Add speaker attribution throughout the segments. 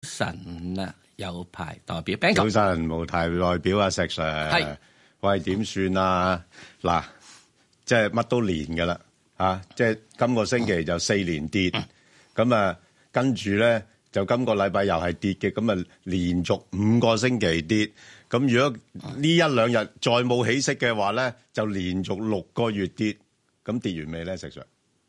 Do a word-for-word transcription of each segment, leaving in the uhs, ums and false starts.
Speaker 1: 神啊，有牌代表 Bang
Speaker 2: 早晨，無牌代表啊，石 Sir。係。喂，點算啊？嗱，即係乜都連㗎啦，嚇！即係今個星期就四連跌，咁、嗯、啊，跟住咧就今個禮拜又係跌嘅，咁啊連續五個星期跌。咁如果呢一兩日再冇起色嘅話咧，就連續六個月跌。咁跌完未咧，石 Sir？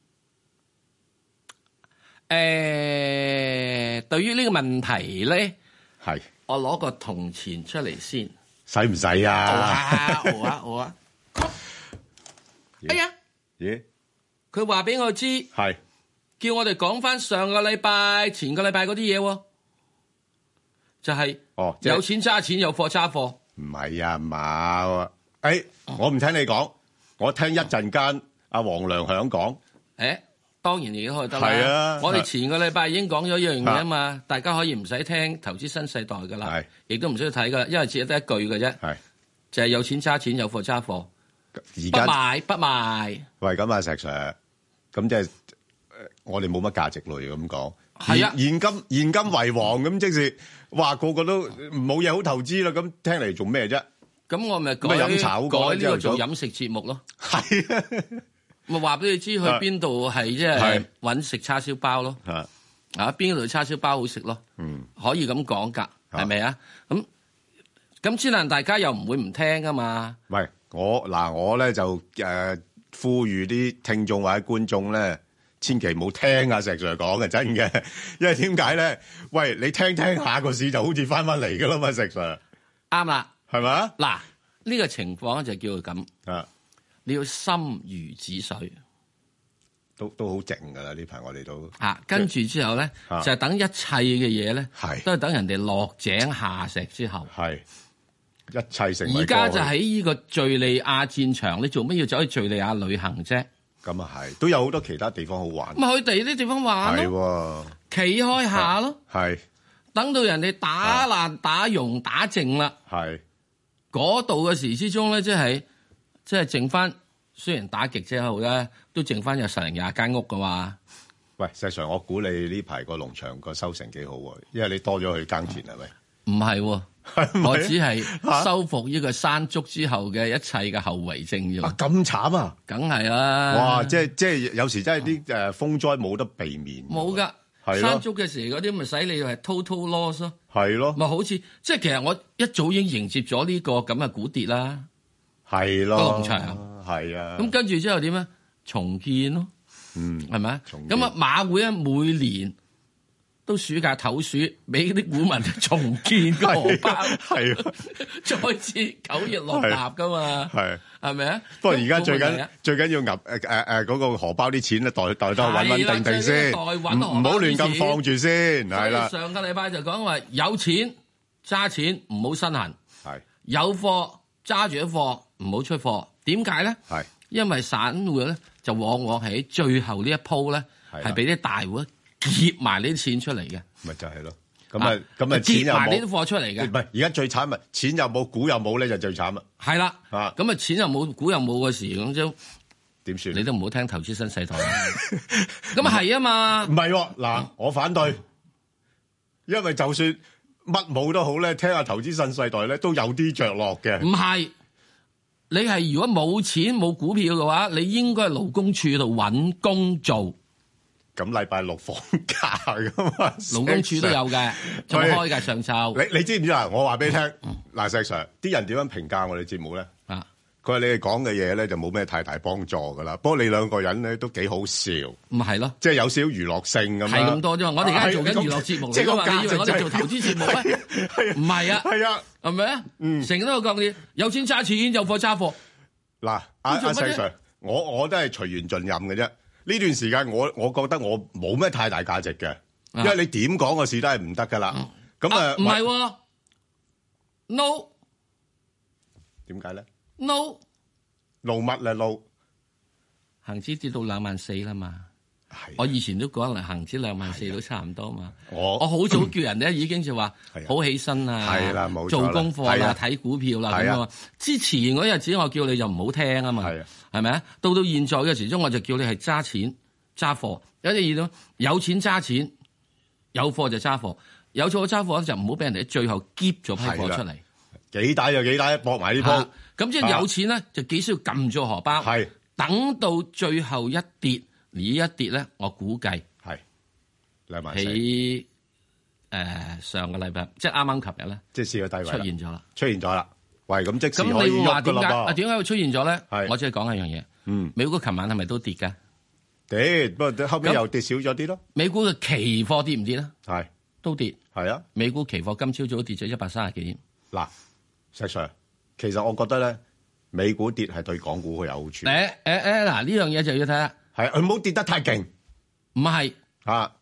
Speaker 1: 誒、呃，對於呢個問題咧，
Speaker 2: 係
Speaker 1: 我攞個銅錢出嚟先，
Speaker 2: 使唔使啊？
Speaker 1: 好啊，好啊，好啊！哎呀，
Speaker 2: 咦？
Speaker 1: 佢話俾我知，
Speaker 2: 係
Speaker 1: 叫我哋講翻上個禮拜、前個禮拜嗰啲嘢喎，就係、是、
Speaker 2: 哦，
Speaker 1: 有錢揸錢，有貨揸貨。
Speaker 2: 唔係啊嘛？誒、哎，我唔聽你講，我聽一陣間阿黃良響講。誒、
Speaker 1: 欸。當然已經可以得啦。係
Speaker 2: 啊，
Speaker 1: 我哋前個禮拜已經講咗一樣嘢啊嘛，大家可以唔使聽投資新世代噶啦，亦都唔需要睇噶啦，因為只係得一句嘅啫。係就係、是、有錢揸錢，有貨揸貨。而家不賣不賣。喂，咁啊石 Sir，咁即係我哋冇乜價值類咁講。係啊，現金現金為王咁，即是話個個都冇嘢好投資啦。咁聽嚟做咩啫？咁我咪改飲茶好改呢個做飲食節目咯。係啊。咪話俾你知去邊度係即係搵食叉燒包咯，啊邊度叉燒包好食咯，嗯，可以咁講噶，係咪啊？咁咁之但大家又唔會唔聽噶嘛？喂，我嗱我咧就誒、呃、呼籲啲聽眾或者觀眾咧，千祈唔好聽阿石 Sir 講嘅，真嘅，因為點解咧？喂，你聽聽下個市就好似翻翻嚟噶啦嘛，石 Sir 啱啦，係咪啊？嗱呢個情況就叫做咁啊。你要心如止水，都都好靜噶啦！呢排我哋都啊，跟住之後咧、啊，就係等一切嘅嘢咧，都係等人哋落井下石之後，係一切成。而家就喺呢個敘利亞戰場，你做乜要走去敘利亞旅行啫？咁啊係，都有好多其他地方好玩。咪去第二啲地方玩咯，企開下咯，係等到人哋打爛、打融、打淨啦，係嗰度嘅時之中咧，即係。即係剩翻，雖然打極之後咧，都剩翻有十零廿間屋噶嘛。喂，石 Sir，我估你呢排個農場個收成幾好喎，因為你多咗去耕田係咪？唔係、啊，我只係修復呢個山竹之後嘅一切嘅後遺症啫。咁慘啊！梗係啦。哇！即係即係有時真係啲誒風災冇得避免。冇噶，山竹嘅時嗰啲咪使你係 total loss 咯。係咯。咪好似即係其實我一早已經迎接咗呢個咁嘅股跌啦。係咯，個農場係啊，咁跟住之後點咧？重建咯，嗯，係咪啊？咁啊，馬會咧每年都暑假唞暑，俾啲股民重建個荷包，係啊，再次九月落納噶嘛，係係咪啊？不過而家最緊最緊要揼誒誒誒嗰個荷包啲錢咧，袋袋得穩穩定定先，唔唔好亂咁放住先，係啦。上個禮拜就講話有錢揸錢，唔好身痕，係有貨揸住啲貨。唔好出貨，點解咧？係因為散戶咧就往往喺最後呢一鋪咧，係俾啲大戶劫埋呢啲錢出嚟嘅。咪就係咯，咁啊咁啊，劫埋呢啲貨出嚟嘅。唔係而家最慘咪錢又冇，股又冇咧，就最慘啦。係啦，啊咁啊，錢又冇，股又冇嘅時咁就點算？你都唔好聽投資新世代。咁啊係啊嘛，唔係嗱，我反對，因為就算乜冇都好咧，聽下投資新世代咧都有啲着落嘅。唔係。你係如果冇錢冇股票嘅話，你應該係勞工處度揾工做。咁禮拜六放假噶嘛？勞工處都有嘅，仲開嘅上晝。你你知唔知啊？我話俾你聽，嗱石 Sir，啲人點樣評價我哋節目咧？啊，佢話你哋講嘅嘢咧就冇咩太大幫助噶啦。不過你兩個人咧都幾好笑。唔係咯，即係有少少娛樂性咁。係咁多啫嘛。我哋而家做緊娛樂節目嚟噶嘛？你以為我哋做投資節目咩？唔係啊。係啊。係咪啊？嗯，成日都講啲有錢揸錢，有貨揸貨。嗱，阿阿石 Sir，我我都係隨緣盡任嘅啫。呢段時間我我覺得我冇咩太大價值嘅，因為你點講個事都係唔得噶啦。咁啊，唔係喎 ，no，點解咧 ？no，路乜咧路？恒指跌到兩萬四啦嘛。我以前都講嚟恒指兩萬四都差唔多嘛，我我好早叫人咧已經就話好起身啊，做功課啦，睇股票啦咁啊。之前嗰日子我叫你就唔好聽啊嘛，係咪啊？到到現在嘅時鐘我就叫你係揸錢揸貨，有啲嘢都有錢揸錢，有貨就揸貨。 有貨揸貨就唔好俾人哋最後夾咗批貨出嚟，
Speaker 2: 幾大就幾大，搏埋呢鋪。
Speaker 1: 咁即係有錢咧，就幾需要撳住荷包，係等到最後一跌，呢一跌咧，我估計
Speaker 2: 係兩萬四。
Speaker 1: 喺誒上個禮拜，即係啱啱琴日咧，
Speaker 2: 即係試個低位
Speaker 1: 出現咗啦，
Speaker 2: 出現咗啦。喂，咁即時
Speaker 1: 咁
Speaker 2: 可以
Speaker 1: 你會話點解？
Speaker 2: 喐
Speaker 1: 啊點解會出現咗咧？
Speaker 2: 係
Speaker 1: 我只係講一樣嘢。嗯，美股琴晚係咪都跌㗎？
Speaker 2: 跌，不過後尾又跌少咗啲咯。
Speaker 1: 美股嘅期貨跌唔跌咧？
Speaker 2: 係
Speaker 1: 都跌。
Speaker 2: 係啊，
Speaker 1: 美股期貨今朝早跌咗一百三十幾點。
Speaker 2: 嗱，石 Sir，其實我覺得咧，美股跌係對港股會有好處。
Speaker 1: 誒誒誒，嗱呢樣嘢就要睇下。
Speaker 2: 係佢唔好跌得太勁。
Speaker 1: 唔係
Speaker 2: 啊，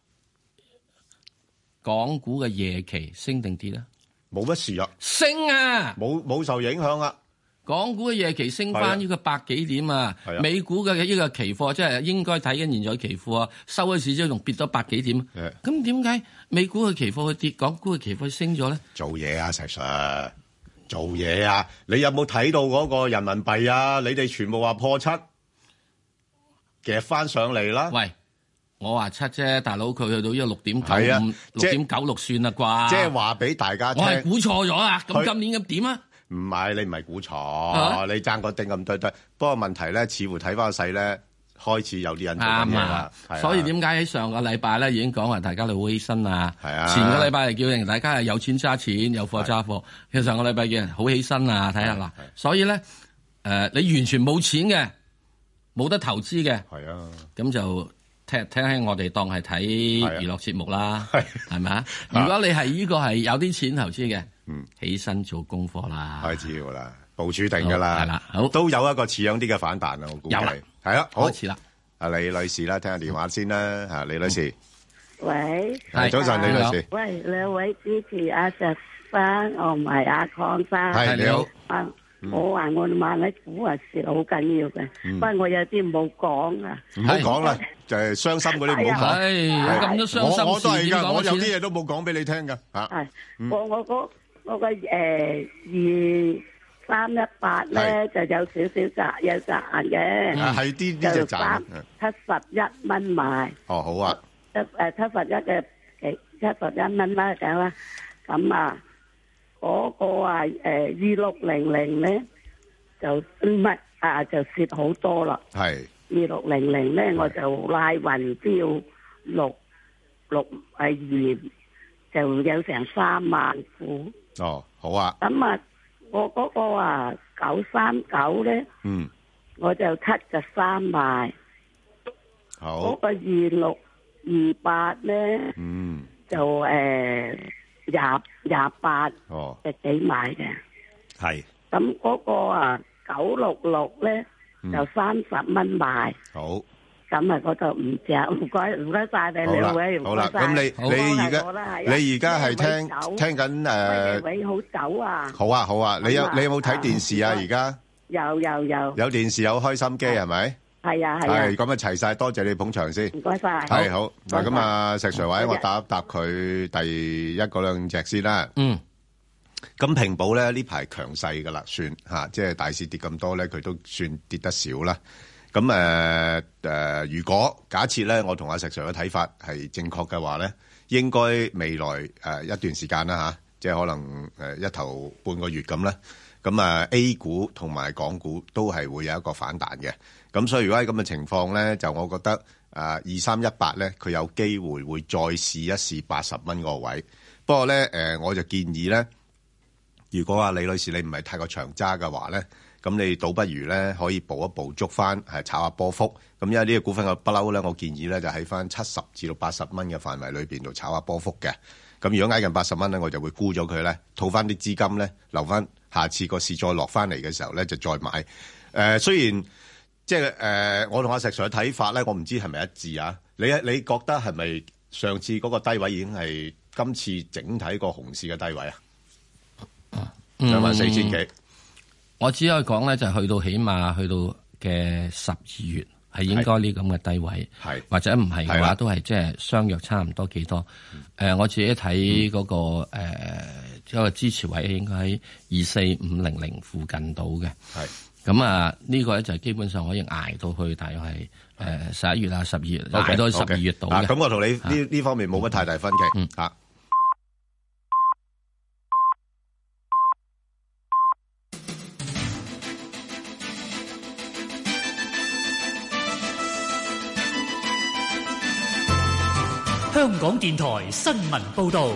Speaker 1: 港股嘅夜期升定跌咧？
Speaker 2: 冇乜事啊。
Speaker 1: 升啊！
Speaker 2: 冇冇受影響啊。
Speaker 1: 港股嘅夜期升翻呢個百幾點啊！美股嘅呢個期貨即係應該睇緊現在期貨啊，收嘅市之後仲跌咗百幾點。咁點解美股嘅期貨去跌，港股嘅期貨升咗咧？
Speaker 2: 做嘢啊，石 Sir，做嘢啊！你有冇睇到嗰個人民幣啊？你哋全部話破七，夾翻上嚟啦！
Speaker 1: 喂，我話七啫，大佬佢去到呢個六點九五、六點九六算啦啩？
Speaker 2: 即係話俾大家聽，
Speaker 1: 我係估錯咗啊！咁今年咁點啊？
Speaker 2: 唔係，你唔係估錯，你爭個丁咁多堆。不過問題咧，似乎睇翻個勢咧，開始有啲人做緊嘢啦。
Speaker 1: 所以點解喺上個禮拜咧已經講話大家你好犧牲啊？係啊。前個禮拜係叫人大家係有錢揸錢，有貨揸貨。其實上個禮拜叫人好犧牲啊！睇下嗱，所以咧誒，你完全冇錢嘅，冇得投資嘅，係啊，咁就聽聽起我哋當係睇娛樂節目啦，係咪啊？如果你係呢個係有啲錢投資嘅。嗯，起身做功課啦，開始噶啦，部署定噶啦，係啦，好都有一個似樣啲嘅反彈啊，我估計係啦，開始啦。阿李女士啦，聽下電話先啦，吓李女士，
Speaker 3: 喂，
Speaker 2: 係早晨，李女士，
Speaker 3: 喂，兩位主持阿石生，我唔係阿鄺生，
Speaker 2: 係你好，
Speaker 3: 啊，我話我買啲股啊蝕好緊要嘅，不過我有啲冇講啊，
Speaker 2: 唔好講啦，就係傷心嗰啲唔好講，
Speaker 1: 係咁多傷心事，
Speaker 2: 我我都係噶，我有啲嘢都冇講俾你聽噶，吓，
Speaker 3: 係我我嗰。嗰個誒二三一八咧就有少少賺有賺嘅，
Speaker 2: 係啲呢隻賺，
Speaker 3: 七十一蚊買。
Speaker 2: 哦，好啊，
Speaker 3: 七誒七十一嘅幾七十一蚊啦，咁啦，咁啊嗰個啊誒二六零零咧就唔係啊就蝕好多啦。係二六零零咧我就拉雲標六六誒二就有成三萬股。
Speaker 2: 哦，好啊。
Speaker 3: 咁啊，我嗰個啊九三九咧，嗯，我就七十三賣。好。嗰個二六二八咧，嗯，就誒廿廿八，哦，隻幾買嘅。係。咁嗰個啊九六六咧，就三十蚊賣。好。咁啊，嗰度唔值，唔該唔該晒你兩位，唔該晒。好啦，咁你你而家你而家係聽聽緊誒？位好走啊！好啊好啊，你有你有冇睇電視啊？而家有有有。有電視有開心機係咪？係啊係啊。係咁啊，齊晒，多謝你捧場先。唔該晒。係好嗱，咁啊，石 Sir 或者我答一答佢第一嗰兩隻先啦。嗯。咁平保咧呢排強勢噶啦，算吓，即係大市跌咁多咧，佢都算跌得少啦。咁誒誒，如果假設咧，我同阿石 Sir 嘅睇法係正確嘅話咧，應該未來誒、呃、一段時間啦嚇、啊，即係可能誒一頭半個月咁咧，咁啊 A 股同埋港股都係會有一個反彈嘅。咁所以如果喺咁嘅情況咧，就我覺得誒二三一八咧，佢有機會會再試一試八十蚊個位。不過咧誒、呃，我就建議咧，如果阿李女士你唔係太過長揸嘅話咧，咁你倒不如咧可以捕一捕捉翻，係炒下波幅。咁因為呢個股份嘅不嬲咧，我建議咧就喺翻七十至到八十蚊嘅範圍裏邊度炒下波幅嘅。咁如果挨近八十蚊咧，我就會沽咗佢咧，套翻啲資金咧，留翻下次個市再落翻嚟嘅時候咧，就再買。誒、呃，雖然即係誒，我同阿石 Sir 嘅睇法咧，我唔知係咪一致啊？你你覺得係咪上次嗰個低位已經係今次整體個熊市嘅低位啊？兩萬四千幾。
Speaker 1: 我只可以講咧，就係去到起碼去到嘅十二月係應該呢咁嘅低位，或者唔係嘅話都係即係相約差唔多幾多。誒、呃，我自己睇嗰、那個誒一個支持位應該喺二四五零零附近到嘅。係咁啊，呢個咧就基本上可以捱到去大約係誒十一月啊、十二月捱到十二月度嘅。
Speaker 2: 咁、okay, okay. 我同你呢呢、啊、方面冇乜太大分歧。嗯啊。
Speaker 4: 香港電台新聞報道。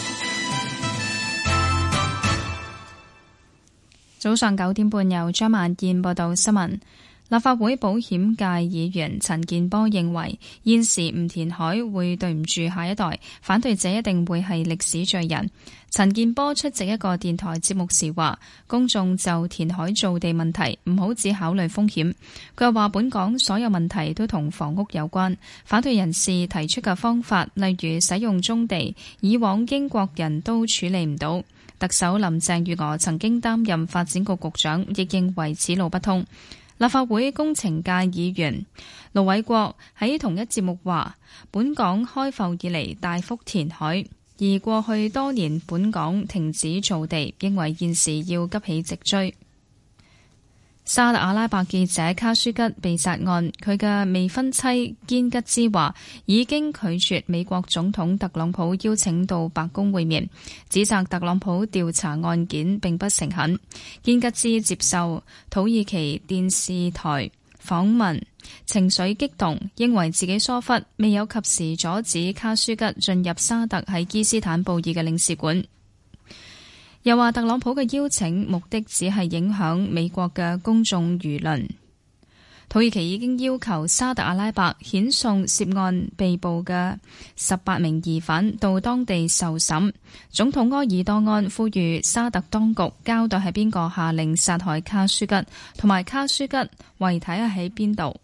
Speaker 5: 早上九點半，由張萬燕報道新聞。立法會保險界議員陳健波認為，現時唔填海會對唔住下一代，反對者一定會係歷史罪人。陳健波出席一個電台節目時話，公眾就填海造地問題唔好只考慮風險。佢又話，本港所有問題都同房屋有關，反對人士提出嘅方法，例如使用棕地，以往英國人都處理唔到。特首林鄭月娥曾經擔任發展局局長，亦認為此路不通。立法會工程界議員盧偉國喺同一節目話，本港開埠以嚟大幅填海，而過去多年本港停止造地，認為現時要急起直追。沙特阿拉伯記者卡舒吉被殺案，佢嘅未婚妻堅吉茲話已經拒絕美國總統特朗普邀請到白宮會面，指責特朗普調查案件並不誠懇。堅吉茲接受土耳其電視台訪問，情緒激動，認為自己疏忽，未有及時阻止卡舒吉進入沙特喺伊斯坦布爾嘅領事館。又話特朗普嘅邀請目的只係影響美國嘅公眾輿論。土耳其已經要求沙特阿拉伯遣送涉案被捕嘅十八名疑犯到當地受審。總統埃爾多安呼籲沙特當局交代係邊個下令殺害卡舒吉，同埋卡舒吉遺體係喺邊度。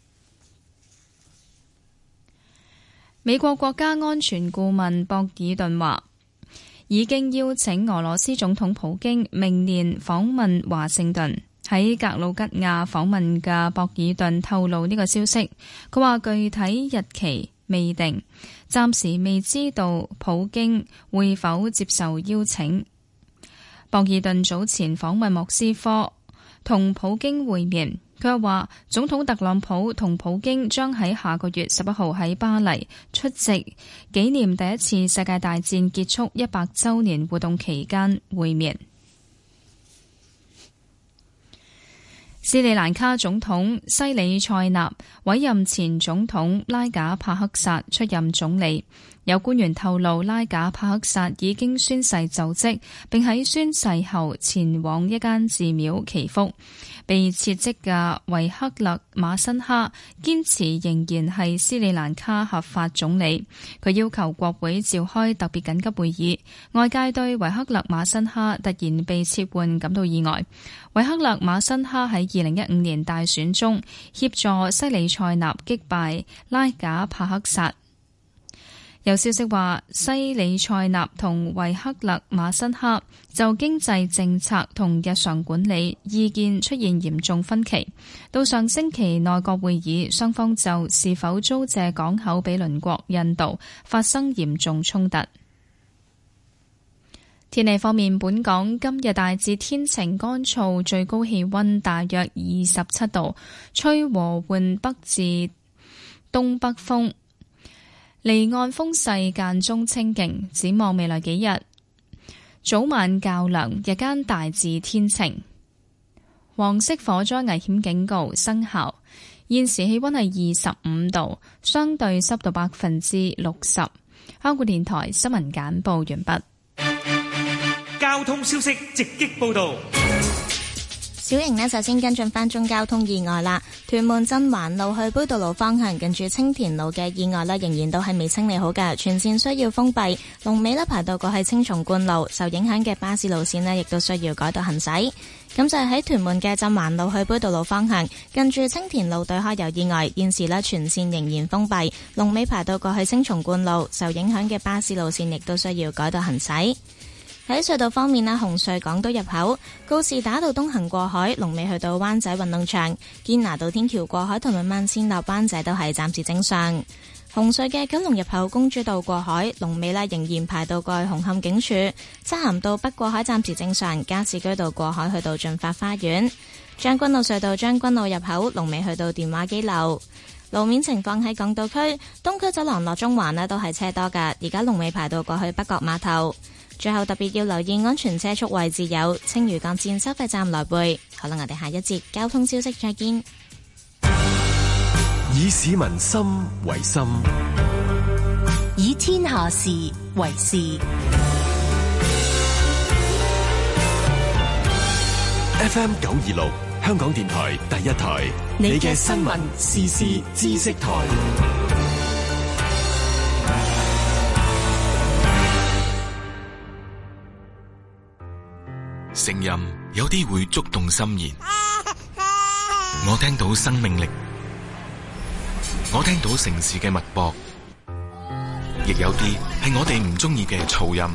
Speaker 5: 美國國家安全顧問博爾頓話，已經邀請俄羅斯總統普京明年訪問華盛頓。喺格魯吉亞訪問嘅博爾頓透露呢個消息，佢話具體日期未定，暫時未知道普京會否接受邀請。博爾頓早前訪問莫斯科，同普京會面。佢又話，總統特朗普同普京將喺下個月十一號喺巴黎出席紀念第一次世界大戰結束一百週年活動期間會面。斯里蘭卡總統西里塞納委任前總統拉賈帕克薩出任總理。有官員透露，拉賈帕克薩已經宣誓就職，並喺宣誓後前往一間寺廟祈福。被撤職嘅維克勒馬辛哈堅持仍然係斯里蘭卡合法總理，佢要求國會召開特別緊急會議。外界對維克勒馬辛哈突然被撤換感到意外。維克勒馬辛哈喺二零一五年大選中協助西里塞納擊敗拉賈帕克薩。有消息話，西里塞納同維克勒馬辛哈就經濟政策同日常管理意見出現嚴重分歧。到上星期內閣會議，雙方就是否租借港口俾鄰國印度發生嚴重衝突。天氣方面，本港今日大致天晴乾燥，最高氣溫大約二十七度，吹和緩北至東北風。離岸風勢間中清勁，展望未來幾日，早晚較涼，日間大致天晴。黃色火災危險警告生效。現時氣溫係二十五度，相對濕度百分之六十。香港電台新聞簡報完畢。
Speaker 4: 交通消息直擊報道。
Speaker 6: 小瑩呢，首先跟進翻宗交通意外啦。屯門鎮環路去杯渡路方向，近住青田路嘅意外呢，仍然都係未清理好㗎，全線需要封閉。龍尾呢，排到過去青松觀路，受影響嘅巴士路線呢，亦都需要改道行駛。咁就係喺屯門嘅鎮環路去杯渡路方向，近住青田路對開有意外，現時呢，全線仍然封閉。龍尾排到過去青松觀路，受影響嘅巴士路線亦都需要改道行駛。喺隧道方面啦，紅隧港島入口告士打道東行過海，龍尾去到灣仔運動場；堅拿道天橋過海同埋慢線落灣仔都係暫時正常。紅隧嘅九龍入口公主道過海，龍尾呢仍然排到過去紅磡警署；漆咸道北過海暫時正常，加士居道過海去到駿發花園；將軍澳隧道將軍澳入口龍尾去到電話機樓。路面情況喺港島區東區走廊落中環呢都係車多㗎，而家龍尾排到過去北角碼頭。最後特別要留意安全車速位置有青嶼幹線收費站來回。好啦，我哋下一節交通消息再見。
Speaker 7: 以市民心為心，
Speaker 8: 以
Speaker 7: 天下事為事。
Speaker 8: F M 九二六香港電台第一台，你嘅新聞時事知識台。
Speaker 9: 聲音有啲會觸動心弦，我聽到生命力，我聽到城市嘅脈搏，亦有啲係我哋唔中意嘅噪音。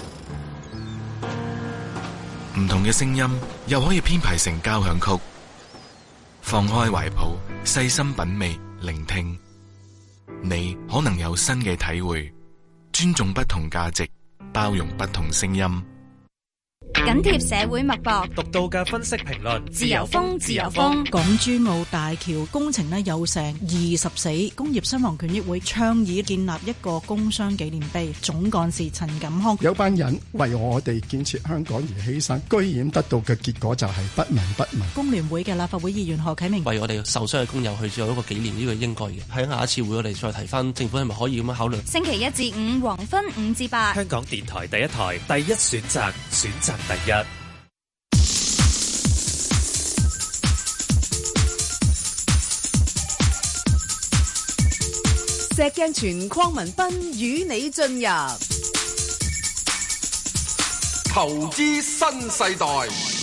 Speaker 9: 唔同嘅聲音又可以編排成交響曲。放開懷抱，細心品味，聆聽，你可能有新嘅體會。尊重不同價值，包容不同聲音。
Speaker 10: 緊貼社會脈搏，
Speaker 4: 獨到嘅分析評論，
Speaker 10: 自由風，自由風。
Speaker 11: 港珠澳大橋工程呢有成二十死，工業傷亡權益會倡議建立一個工傷紀念碑。總幹事陳錦康，
Speaker 12: 有班人為我哋建設香港而犧牲，居然得到嘅結果就係不聞不問。
Speaker 11: 工聯會嘅立法會議員何啟明，
Speaker 13: 為我哋受傷嘅工友去做一個紀念，呢個應該嘅。喺下一次會我哋再提翻政府係咪可以咁樣考慮。
Speaker 10: 星期一至五黃昏五至八，
Speaker 4: 香港電台第一台第一選擇，選擇第一。
Speaker 14: 石鏡泉鄺民彬與你進入
Speaker 15: 投資新世代。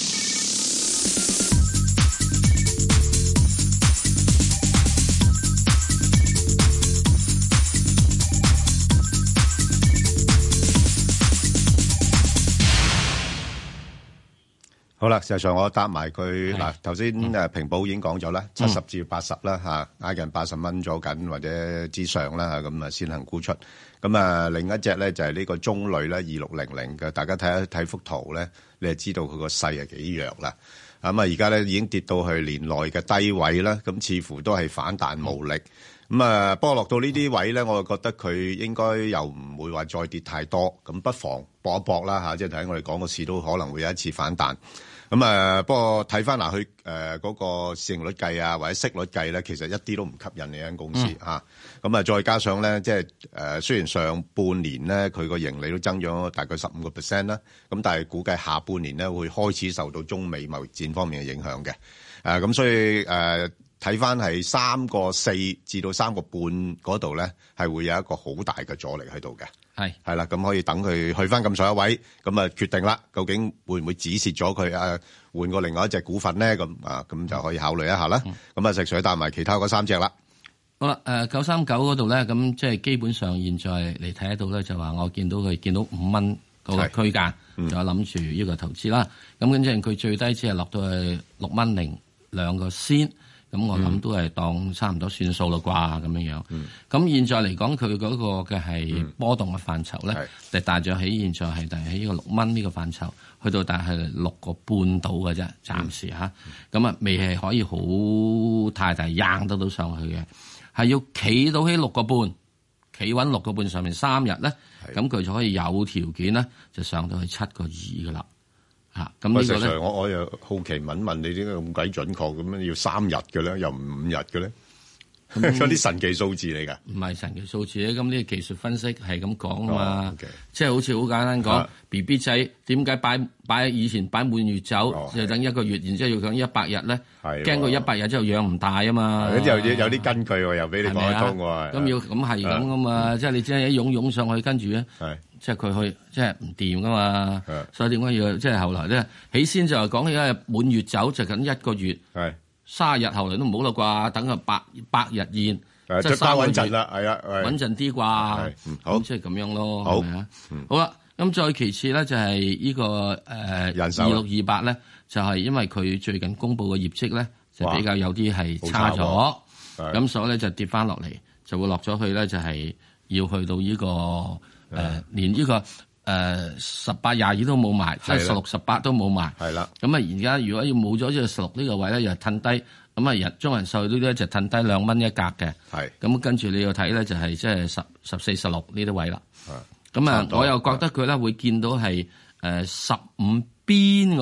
Speaker 2: 好啦，事實上我答埋佢嗱，頭先誒平保已經講咗啦，七十至八十啦嚇，挨近八十蚊咗緊或者之上啦嚇，咁啊先行沽出。咁啊另一隻咧就係呢個中旅咧二六零零嘅，大家睇一睇幅圖咧，你就知道佢個勢係幾弱啦。咁啊而家咧已經跌到去年內嘅低位啦，咁似乎都係反彈無力。咁啊不過落到呢啲位咧，我就覺得佢應該又唔會話再跌太多，咁不妨搏一搏啦嚇，即係睇我哋講個市都可能會有一次反彈。咁啊，不過睇翻嗱，佢誒嗰個市盈率計啊，或者息率計咧，其實一啲都唔吸引呢間公司嚇。咁啊，再加上咧，即係誒雖然上半年咧佢個盈利都增長咗大概十五個 percent 啦，咁但係估計下半年咧會開始受到中美貿易戰方面嘅影響嘅。誒咁所以誒睇翻係三個四至到三個半嗰度咧，係會有一個好大嘅阻力喺度嘅。
Speaker 1: 係係
Speaker 2: 啦，咁可以等佢去翻咁上一位，咁啊決定啦，究竟會唔會止蝕咗佢啊？換過另外一隻股份咧，咁啊，咁就可以考慮一下啦。咁、嗯、啊，石水帶埋其他嗰三隻啦。
Speaker 1: 好啦，誒九三九嗰度咧，咁即係基本上現在嚟睇得到咧，就話我見到佢見到五蚊嗰個區間，嗯、就諗住呢個投資啦。咁跟住佢最低只係落到去六蚊零兩個先。咁我諗都係當差唔多算數啦啩，咁樣樣。咁、嗯、現在嚟講，佢嗰個嘅係波動嘅範疇咧，就大約喺現在係大約喺呢個六蚊呢個範疇，去到大係六個半到嘅啫，暫時嚇。咁、嗯、啊，未係可以好太大硬得到上去嘅，係要企到喺六個半，企穩六個半上面三日咧，咁佢就可以有條件咧，就上到去七個二噶啦。嚇，咁呢個咧，
Speaker 2: 我我又好奇問問你點解咁鬼準確咁樣要三日嘅咧，又唔五日嘅咧？嗰啲神奇數字嚟㗎？唔
Speaker 1: 係神奇數字咧，咁呢個技術分析係咁講啊嘛。Oh, okay. 即係好似好簡單講 ，B B 仔點解擺擺以前擺滿月酒，oh, 就等一個月，然之後要等一百日咧，驚佢一百日之後養唔大啊嘛。
Speaker 2: 咁又有啲根據喎，又俾你講得通喎。
Speaker 1: 咁要咁係咁噶嘛？即係你只係一湧湧上去，跟住咧，即係佢去，即係唔掂噶嘛。所以點解要即係後來咧？起先就係講起咧滿月酒就緊一個月。卅日後嚟都唔好啦啩，等佢百百日宴，即係三個月
Speaker 2: 穩陣啦，係啊，
Speaker 1: 穩陣啲啩，好即係咁樣咯，
Speaker 2: 好，
Speaker 1: 係嗯、好啦，咁再其次咧就係呢、這個誒二六二八咧，就係、是、因為佢最近公布嘅業績咧就比較有啲係差咗，咁所以咧就跌翻落嚟，就會落咗去咧就係要去到呢、這個誒、呃、連呢、這個。誒、呃，十八廿二都冇埋，即係十六十八都冇埋。
Speaker 2: 係啦，
Speaker 1: 咁啊，而家如果要冇咗呢個十六呢個位咧，又褪低，咁啊，人中人壽呢啲就褪低兩蚊一格嘅。係，咁跟住你要睇咧，就係即係十十四十六呢啲位啦。咁啊，我又覺得佢咧會見到係誒十五邊嗰度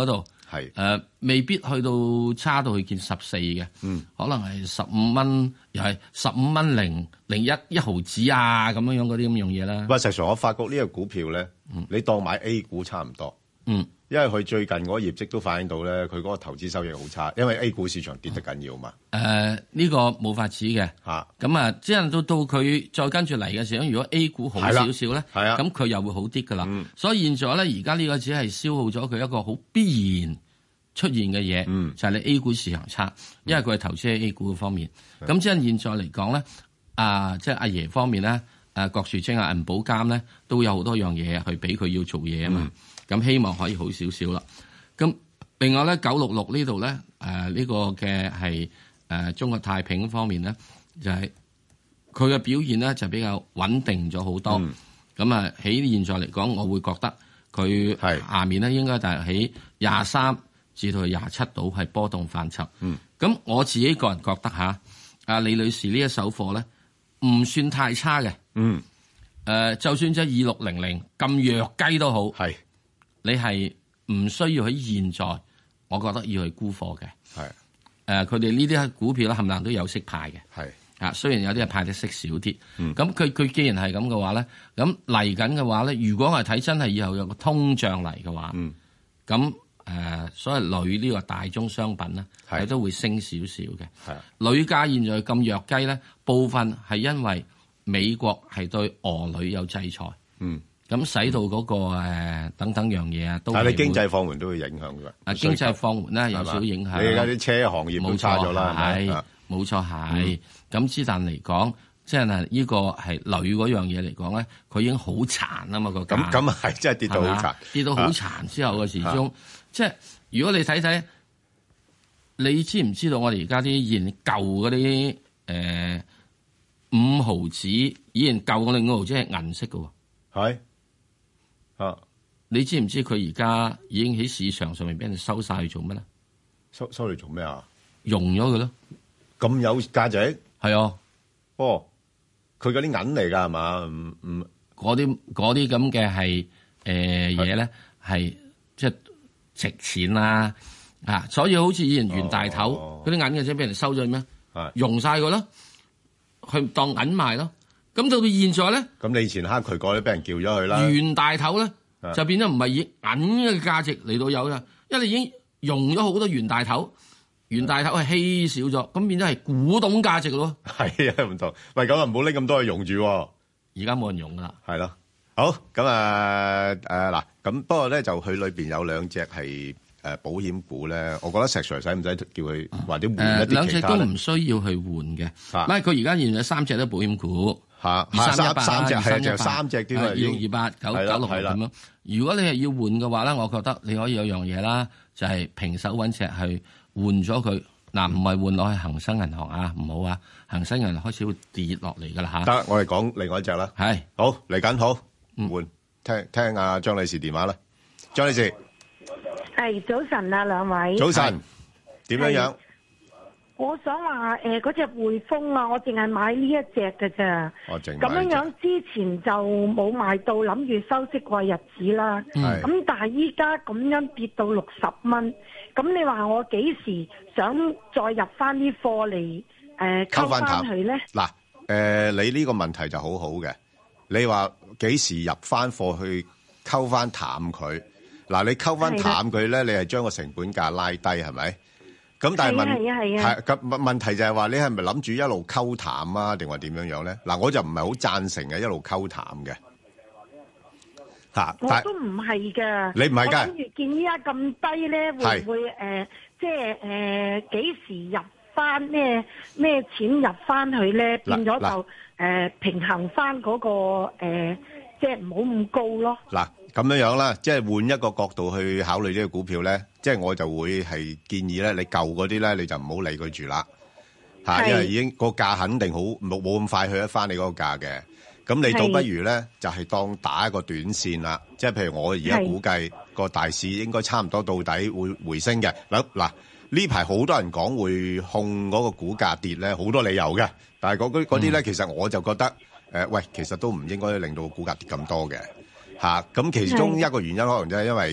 Speaker 2: 係誒、
Speaker 1: 呃、未必去到差到去見十四嘅，嗯，可能係十五蚊，又係十五蚊零零一一毫子啊咁樣樣嗰啲咁樣嘢啦。
Speaker 2: 喂，實際上我發覺呢個股票咧、嗯，你當買 A 股差唔多，
Speaker 1: 嗯。
Speaker 2: 因為佢最近嗰個業績都反映到咧，佢嗰個投資收益好差，因為 A 股市場跌得緊要嘛。
Speaker 1: 誒、呃，呢、呢個冇法子嘅嚇。咁啊，即係到到佢再跟住嚟嘅時候，如果 A 股好少少咧，係啊，咁佢又會好啲噶啦。所以現在咧，而家呢個只係消耗咗佢一個好必然出現嘅嘢、嗯，就係、是、你 A 股市場差，因為佢係投資喺 A 股嘅方面。咁、嗯、即係現在嚟講咧，啊，即係阿爺方面咧，誒郭樹清啊、銀保監咧，都有好多樣嘢去俾佢要做嘢啊嘛。嗯咁希望可以好少少啦。咁另外咧，九六六呢度咧，誒、呃、呢、這個嘅係誒中國太平方面咧，就係佢嘅表現咧就比較穩定咗好多。咁、嗯、啊，喺現在嚟講，我會覺得佢下面咧應該就係喺廿三至到廿七度係波動範疇。咁、嗯、我自己個人覺得嚇，阿李女士呢一手貨咧唔算太差嘅。嗯。誒、呃，就算即係二六零零咁弱雞都好。係。你係唔需要喺現在，我覺得要去沽貨嘅。係誒，佢哋呢啲股票咧，冚唪唥都有息派嘅。係啊，雖然有啲係派得息少啲。咁佢佢既然係咁嘅話咧，咁嚟緊嘅話咧，如果係睇真係以後有個通脹嚟嘅話，咁、嗯、誒、呃，所謂鋁呢個大宗商品咧，係都會升少少嘅。係鋁價現在咁弱雞咧，部分係因為美國係對俄鋁有制裁。嗯。咁使到嗰、那個、呃、等等樣嘢啊，都係。但係你經濟放緩都會影響㗎。啊，經濟放緩咧有少少影響。你而家啲車行業都差咗啦，係冇錯係。咁之但嚟講，即係嗱，呢個係鋁嗰樣嘢嚟講咧，佢已經好殘啊嘛個價。咁咁係真係跌到好殘，跌到好殘之後嘅時鐘，即係如果你睇睇，你知唔知道我哋而家啲現舊嗰啲誒五毫子，以前舊嗰啲五毫子係銀色嘅喎，係。啊！你知唔知佢而家已經喺市場上面俾人收晒去做乜咧？收收嚟做咩啊？用咗佢咯，咁有價值？係啊，哦，佢嗰啲銀嚟㗎係嘛？唔唔，嗰啲嗰啲咁嘅係誒嘢咧，係即係值錢啦啊！所以好似以前袁大頭嗰啲銀嘅啫，俾人收咗咩？用晒佢咯，去當銀賣咯。咁到到現在咧，咁你以前黑渠過咧，俾人叫咗佢啦。袁大頭咧就變咗唔係以銀嘅價值嚟到有啦，因為你已經用咗好多袁大頭，袁大頭係稀少咗，咁變咗係古董價值咯。係啊，唔同。喂，咁啊唔好拎咁多去用住。而家冇人用噶啦。係咯。好，咁啊誒嗱，咁不過咧就佢裏邊有兩隻係誒保險股咧，我覺得石 Sir 使唔使叫佢或者換一啲其他咧？兩隻都唔需要去換嘅。唔係佢而家現在三隻都保險股。吓，二三一八三隻係就三隻啲二六二八九九六咁樣。如果你係要換嘅話咧，我覺得你可以有樣嘢啦，就係、是、平手揾隻去換咗佢。嗱，唔係換落去恒生銀行啊，唔好啊，恒生銀行開始會跌落嚟噶啦吓。得，我哋講另外一隻啦。係，好嚟緊好，換聽聽阿張女士電話啦。張女士，係早晨啊，兩位。早晨，點樣樣？我想話誒嗰隻匯豐啊，我淨係買呢一隻嘅咋，咁樣樣之前就冇買到，諗住收息過日子啦。咁、嗯、但係依家咁樣跌到六十蚊，咁你話我幾時想再入翻啲貨嚟誒溝翻佢咧？嗱誒、呃，你呢個問題就好好嘅，你話幾時入翻貨去溝翻淡佢？嗱，你溝翻淡佢咧，你係將個成本價拉低係咪？咁但係問係咁問問題就係話你係咪諗住一路溝淡啊，定話點樣樣咧？嗱，我就唔係好贊成嘅一路溝淡嘅嚇。我都唔係㗎。你唔係㗎？我諗住見依家咁低咧，會唔會誒即係誒幾時入翻咩咩錢入翻去咧？變咗就誒平衡翻嗰個誒即係唔好咁高咯。嗱。咁樣樣啦，即係換一個角度去考慮呢個股票咧，即係我就會係建議咧，你舊嗰啲咧你就唔好理佢住啦，嚇，因為已經個價肯定好冇冇咁快去得翻你嗰個價嘅。咁你倒不如咧就係當打一個短線啦，即係譬如我而家估計個大市應該差唔多到底會回升嘅。嗱嗱，呢排好多人講會控嗰個股價跌咧，好多理由嘅，但係嗰啲嗰啲咧，其實我就覺得誒，喂，其實都唔應該令到個股價跌咁多嘅。嚇、啊，咁其中一個原因可能就係因為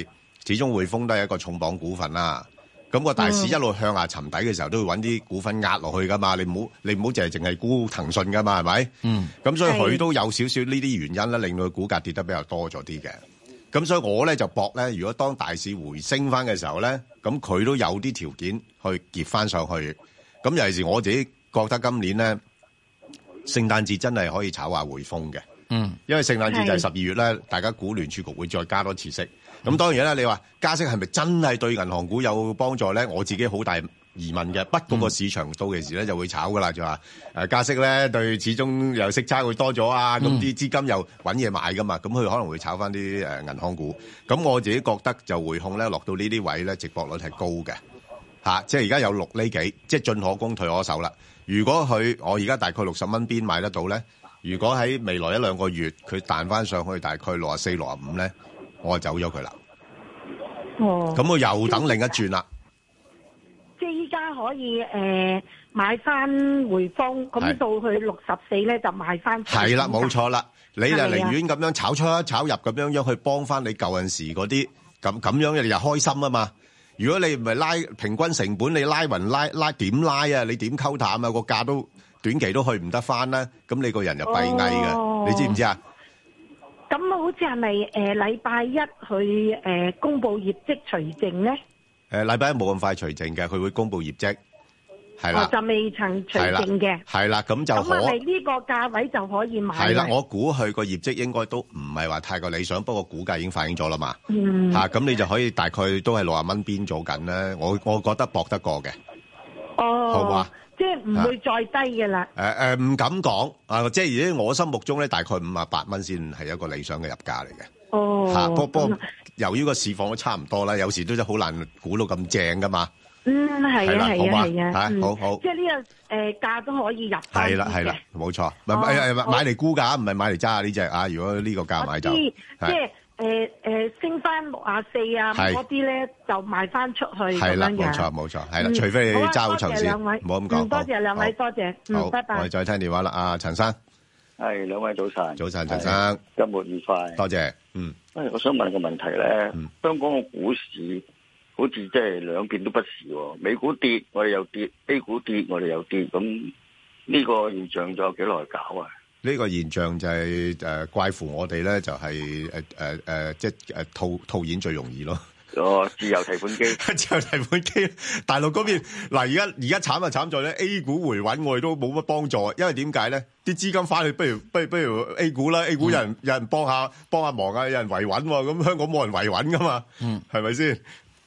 Speaker 2: 始終匯豐都係一個重磅股份啦。咁個大市一路向下沉底嘅時候，都會揾啲股份壓落去噶嘛。你唔好你唔好淨係淨係沽騰訊噶嘛，係咪？嗯。咁所以佢都有少少呢啲原因咧，令到佢股價跌得比較多咗啲嘅。咁所以我咧就搏咧，如果當大市回升翻嘅時候咧，咁佢都有啲條件去結翻上去。咁尤其是我自己覺得今年咧，聖誕節真係可以炒下匯豐嘅。嗯。因為聖誕節就係十二月咧，大家估聯儲局會再加多次息。咁當然啦，你話加息係咪真係對銀行股有幫助咧？我自己好大疑問嘅。不過個市場到期時咧就會炒噶啦，就話誒加息咧對始終又息差會多咗啊，咁啲資金又揾嘢買噶嘛，咁佢可能會炒翻啲誒銀行股。咁我自己覺得就匯控咧落到呢啲位咧，值博率係高嘅嚇，即係而家有六厘幾，即係進可攻退可守啦。如果佢我而家大概六十蚊邊買得到咧，如果喺未來一兩個月佢彈翻上去大概六十四、六十五咧，我就走咗佢啦。哦，咁我又等另一轉啦。
Speaker 16: 即係依家可以誒、呃、買翻匯豐，咁到去六十四咧就賣翻。
Speaker 2: 係啦，冇錯啦，你就寧願咁樣炒出炒入咁樣樣去幫翻你舊陣時嗰啲，咁咁樣你就開心啊嘛。如果你唔係拉平均成本，你拉勻拉拉點拉啊？你點溝淡啊？個價都短期都去唔得翻啦，咁你個人就閉翳嘅，哦、你知唔知啊？
Speaker 16: 咁好似係咪誒禮拜一去誒、呃、公佈業績除淨咧？
Speaker 2: 誒禮拜一冇咁快除淨嘅，佢會公佈業績，係啦、哦，
Speaker 16: 就未曾除淨嘅，
Speaker 2: 係啦，咁就可
Speaker 16: 咁係咪呢個價位就可以買？
Speaker 2: 係啦，我估佢個業績應該都唔係話太過理想，不過股價已經反映咗啦嘛。
Speaker 16: 嗯，
Speaker 2: 嚇、啊，咁你就可以大概都係六十蚊邊做緊咧，我我覺得搏得過嘅。
Speaker 16: 哦，
Speaker 2: 好嘛？
Speaker 16: 即係唔會再低嘅啦。
Speaker 2: 誒誒，唔敢講啊！即係而家我心目中咧，大概五十八蚊先係一個理想嘅入價嚟嘅。
Speaker 16: 哦，
Speaker 2: 嚇，不過由於個市況都差唔多啦，有時都真係好難估到咁正噶嘛。
Speaker 16: 嗯，係啊，係啊，係啊，
Speaker 2: 嚇，好好。
Speaker 16: 即係呢個誒價都可以入。
Speaker 2: 係啦，係啦，冇錯。唔係誒誒，買嚟沽㗎，唔係買嚟揸下呢隻啊！如果呢個價買就
Speaker 16: 即係。誒誒，升翻六啊四啊，嗰啲咧就賣翻出去咁樣嘅。係啦，冇錯冇錯，係啦，除非你揸好長線，唔好咁講。多謝兩位，多謝，嗯，拜拜。
Speaker 2: 我哋再聽電話啦，阿陳生。
Speaker 17: 係兩位早晨。
Speaker 2: 早晨，陳生。
Speaker 17: 周末愉快。
Speaker 2: 多謝。嗯。
Speaker 17: 誒，我想問個問題咧，香港嘅股市好似即係兩邊都不是喎，美股跌，我哋又跌； A 股跌，我哋又跌。咁呢個現象仲有幾耐搞啊？
Speaker 2: 呢個現象就係誒怪乎我哋咧，就係誒誒誒，即係誒套套現最容易咯。
Speaker 17: 哦，自由提款機，
Speaker 2: 自由提款機，大陸嗰邊嗱，而家而家慘就慘在咧 A 股回穩，我哋都冇乜幫助，因為點解咧？啲資金翻去，不如不如不如 A 股啦 ，A 股有人、嗯、有人幫下幫下忙啊，有人維穩喎，咁香港冇人維穩噶嘛，嗯，係咪先？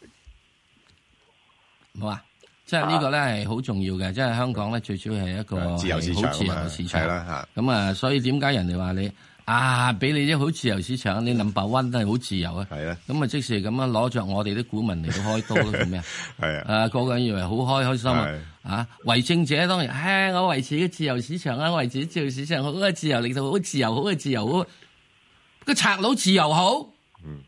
Speaker 1: 好啊。即係呢個咧係好重要嘅，即係香港咧最主要係一個
Speaker 2: 自由市場，好自由嘅市場啦嚇。
Speaker 1: 咁啊，所以點解人哋話你啊，俾你啲好自由市場，你 number one 都係好自由啊。係啊。咁啊，即時咁樣攞着我哋啲股民嚟到開刀咯，做咩啊？係啊。啊，個個人以為好開開心啊！啊，為政者當然，唉，我維持嘅自由市場啊，維持自由市場好嘅自由，令到好自由，好嘅自由好。個賊佬自由好。嗯。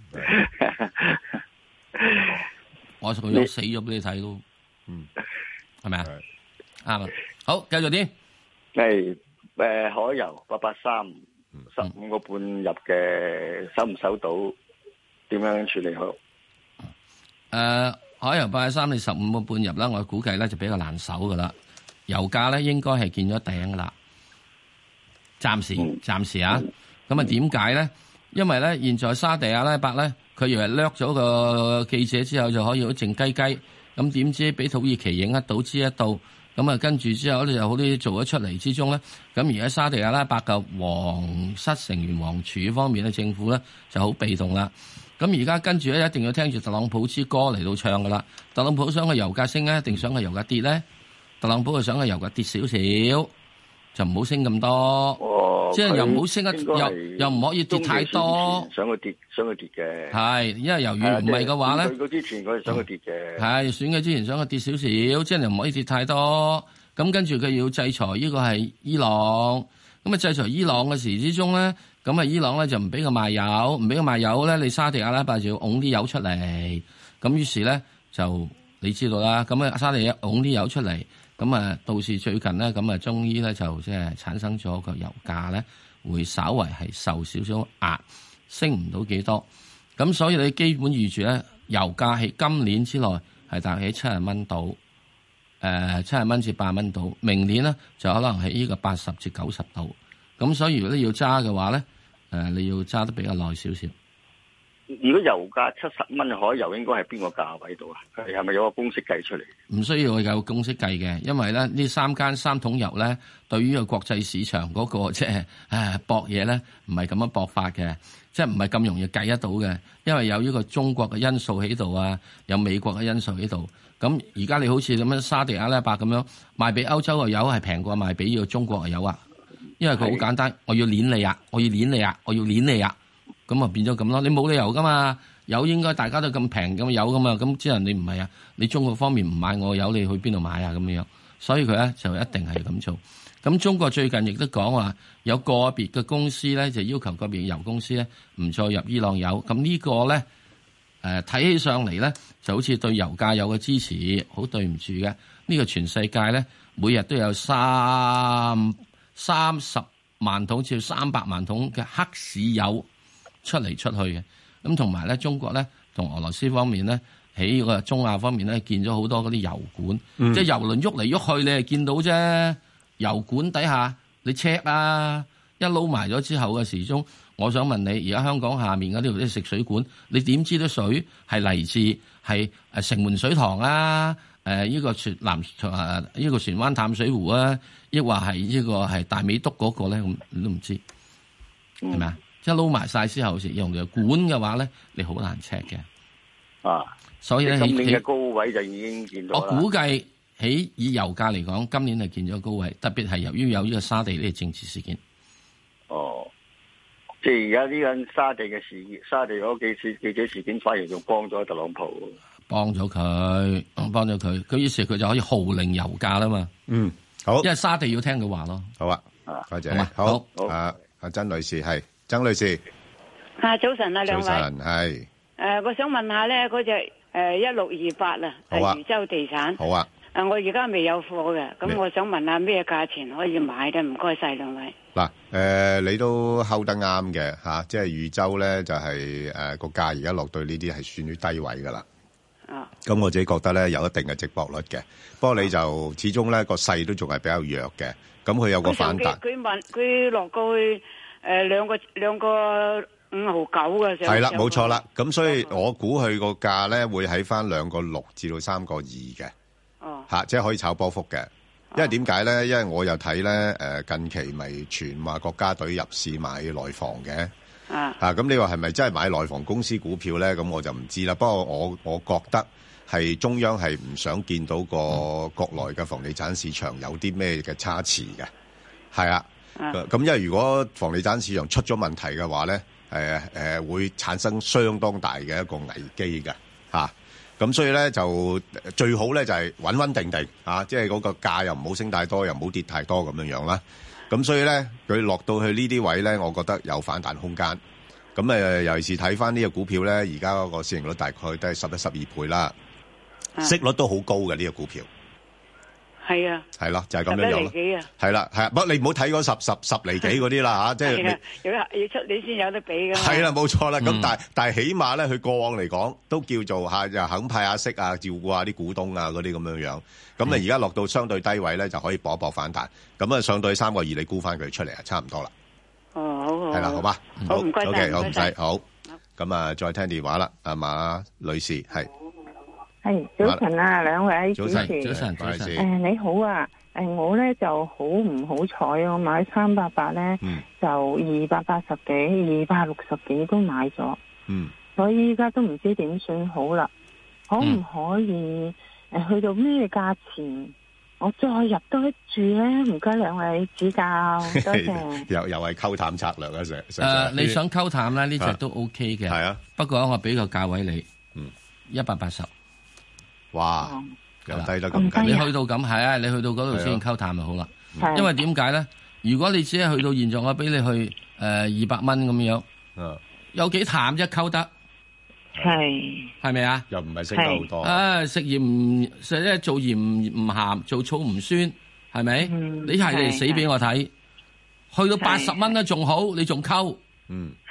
Speaker 1: 我同佢死咗俾你睇咯。嗯，係咪啊？啱啊！好，繼續啲。
Speaker 17: 係誒，海油八八三十五個半入嘅，收唔收到？點樣處理好？誒、
Speaker 1: 呃，海油八八三你十五個半入啦，我估計咧就比較難守噶啦。油價咧應該係見咗頂噶啦，暫時暫、嗯、時啊。咁啊點解咧？因為咧現在沙地阿拉伯咧，佢以為掠咗個記者之後就可以好靜雞雞。咁點知俾土耳其影得到知得到，咁啊跟住之後咧就好啲做咗出嚟之中咧，咁而家沙地阿拉伯嘅皇室成員王儲方面咧，政府咧就好被動啦。咁而家跟住咧一定要聽住特朗普之歌嚟到唱噶啦。特朗普想個油價升咧，一定想個油價跌咧？特朗普就想個油價跌少少，就唔好升咁多。哦，即係又唔好升得，又又唔可以跌太多。
Speaker 17: 想佢跌，想佢跌嘅。
Speaker 1: 係，因為由於唔係嘅話咧，
Speaker 17: 選舉之前佢係想佢跌嘅。
Speaker 1: 係選舉之前想佢跌少少，即係又唔可以跌太多。咁跟住佢要制裁呢個係伊朗。咁啊制裁伊朗嘅時之中咧，咁啊伊朗咧就唔俾佢賣油，唔俾佢賣油咧，你沙地阿拉伯就要拱啲油出嚟。咁於是咧就你知道啦，咁啊沙地拱啲油出嚟。咁啊，到時最近咧，咁啊，終於咧就即係產生咗個油價咧，會稍為係受少少壓，升唔到幾多。 咁所以你基本預住咧，油價喺今年之內係大約喺七十蚊到，誒七十蚊至八蚊到。明年咧就可能喺呢個八十至九十度。咁所以如果你要揸嘅話咧，誒、呃、你要揸得比較耐少少。
Speaker 17: 如果油價七十蚊，海油應該係邊個價位度啊？係咪有個公式計出嚟？
Speaker 1: 唔需要有公式計嘅，因為咧呢三間三桶油咧，對於個國際市場嗰、那個即係誒搏嘢咧，唔係咁樣搏法嘅，即係唔係咁容易計得到嘅。因為有呢個中國嘅因素喺度啊，有美國嘅因素喺度。咁而家你好似咁樣沙地阿拉伯咁樣賣俾歐洲嘅油係平過賣俾呢個中國嘅油啊，因為佢好簡單，我要鏈你啊，我要鏈你啊，我要鏈你啊。咁啊變咗咁咯，你冇理由噶嘛，油應該大家都咁平咁油噶嘛，咁只能你唔係啊，你中國方面唔買我油，你去邊度買啊咁樣，所以佢咧就一定係咁做。咁中國最近亦都講話有個別嘅公司咧就要求個別油公司咧唔再入伊朗油，咁呢個咧誒睇起上嚟咧就好似對油價有個支持，好對唔住嘅，呢個全世界咧每日都有三三十萬桶至三百萬桶嘅黑市油出嚟出去嘅，咁同埋咧，中國咧同俄羅斯方面咧，喺個中亞方面咧，見咗好多嗰啲油管，嗯、即係油輪喐嚟喐去，你係見到啫。油管底下你 check 啊，一撈埋咗之後嘅時鐘，我想問你，而家香港下面嗰啲啲食水管，你點知啲水係嚟自係誒城門水塘啊？誒、呃、呢、這個船南誒呢個船灣淡水湖啊，抑或係呢個係大美督嗰個咧？咁你都唔知係咪啊？一撈埋晒之後，時用嘅管嘅話咧，你好難 check 嘅。
Speaker 17: 啊，
Speaker 1: 所以咧，
Speaker 17: 今年嘅高位就已經見到啦。
Speaker 1: 我估計喺以油價嚟講，今年係見咗高位，特別係由於有呢個沙地呢個政治事件。
Speaker 17: 哦，即係而家呢個沙地嘅事件，沙地嗰幾次記者事件，反而仲幫咗特朗普。幫咗
Speaker 1: 佢，幫咗佢，佢於是佢就可以號令油價啦嘛。
Speaker 2: 嗯，好，
Speaker 1: 因為沙地要聽佢話咯。
Speaker 2: 好啊，多謝。好，好，阿阿曾女士係。曾女士，
Speaker 18: 啊早晨啊兩位，
Speaker 2: 早晨係，
Speaker 18: 誒我想問下咧，嗰隻誒一六二八啊，係漁洲地產，
Speaker 2: 好啊，
Speaker 18: 誒我而家未有貨嘅，咁我想問下咩價錢可以買咧？唔該晒兩位。
Speaker 2: 嗱，誒你都睺得啱嘅吓，即係漁洲咧就係誒個價而家落到呢啲係算於低位噶啦。啊，咁我自己覺得咧有一定嘅值博率嘅，不過你就始終咧個勢都仲係比較弱嘅，咁佢有個反彈。
Speaker 18: 佢問佢落過去。誒，兩個兩個五毫九嘅時候係啦，
Speaker 2: 冇錯啦。咁所以我估佢個價咧會喺翻兩個六至到三個二嘅，哦，吓，即係可以炒波幅嘅。因為點解咧？因為我又睇咧，誒，近期咪傳話國家隊入市買內房嘅，啊，吓，咁你話係咪真係買內房公司股票咧？咁我就唔知啦。不過我我覺得係中央係唔想見到個國內嘅房地產市場有啲咩嘅差池嘅，係啊。咁因為如果房地產市場出咗問題嘅話咧，誒誒會產生相當大嘅一個危機嘅嚇。咁所以咧就最好咧就係穩穩定定嚇，即係嗰個價又唔好升太多，又唔好跌太多咁樣樣啦。咁所以咧佢落到去呢啲位咧，我覺得有反彈空間。咁誒尤其是睇翻呢個股票咧，而家嗰個市盈率大概都係十一、十二倍啦，息率都好高嘅呢個股票。係啊，係咯，就係咁樣樣咯。係啦，係啊，不過你唔好睇嗰十十十厘幾嗰啲啦吓，即係
Speaker 18: 要要出你先有得俾噶。
Speaker 2: 係啦，冇錯啦。咁但係但係起碼咧，佢過往嚟講都叫做吓，又肯派下息啊，照顧下啲股東啊嗰啲咁樣樣。咁啊，而家落到相對低位咧，就可以搏一搏反彈。咁啊，上到三個二，你沽翻佢出嚟啊，差唔多啦。
Speaker 18: 哦，好好。係
Speaker 2: 啦，好嘛。
Speaker 18: 好，唔該晒。
Speaker 2: OK，好唔使好。咁啊，再聽電話啦，阿馬女士係。
Speaker 19: 係早晨啊，兩位主持，
Speaker 1: 早晨，早晨，早晨。
Speaker 19: 誒，你好啊，誒，我咧就好唔好彩，我買三百八咧，就二百八十幾、二百六十幾都買咗，嗯，所以依家都唔知點算好啦。可唔可以誒去到咩價錢，我再入多一注咧？唔該兩位指教，多謝。
Speaker 2: 又又係溝淡策略啊，成
Speaker 1: 誒，你想溝淡咧？呢隻都 OK 嘅，
Speaker 2: 係啊。
Speaker 1: 不過我俾個價位你，嗯，一百八十。
Speaker 2: 哇，又低得咁緊，
Speaker 1: 你去到咁係啊，你去到嗰度先溝淡就好啦。因為點解咧？如果你只係去到現在，我俾你去誒二百蚊咁樣，有幾淡啫？溝得
Speaker 19: 係係
Speaker 1: 咪啊？
Speaker 2: 又唔係升得好多。
Speaker 1: 啊，食鹽唔食咧，做鹽唔鹹，做醋唔酸，係咪？你係嚟死俾我睇，去到八十蚊咧仲好，你仲溝。
Speaker 19: 嗯，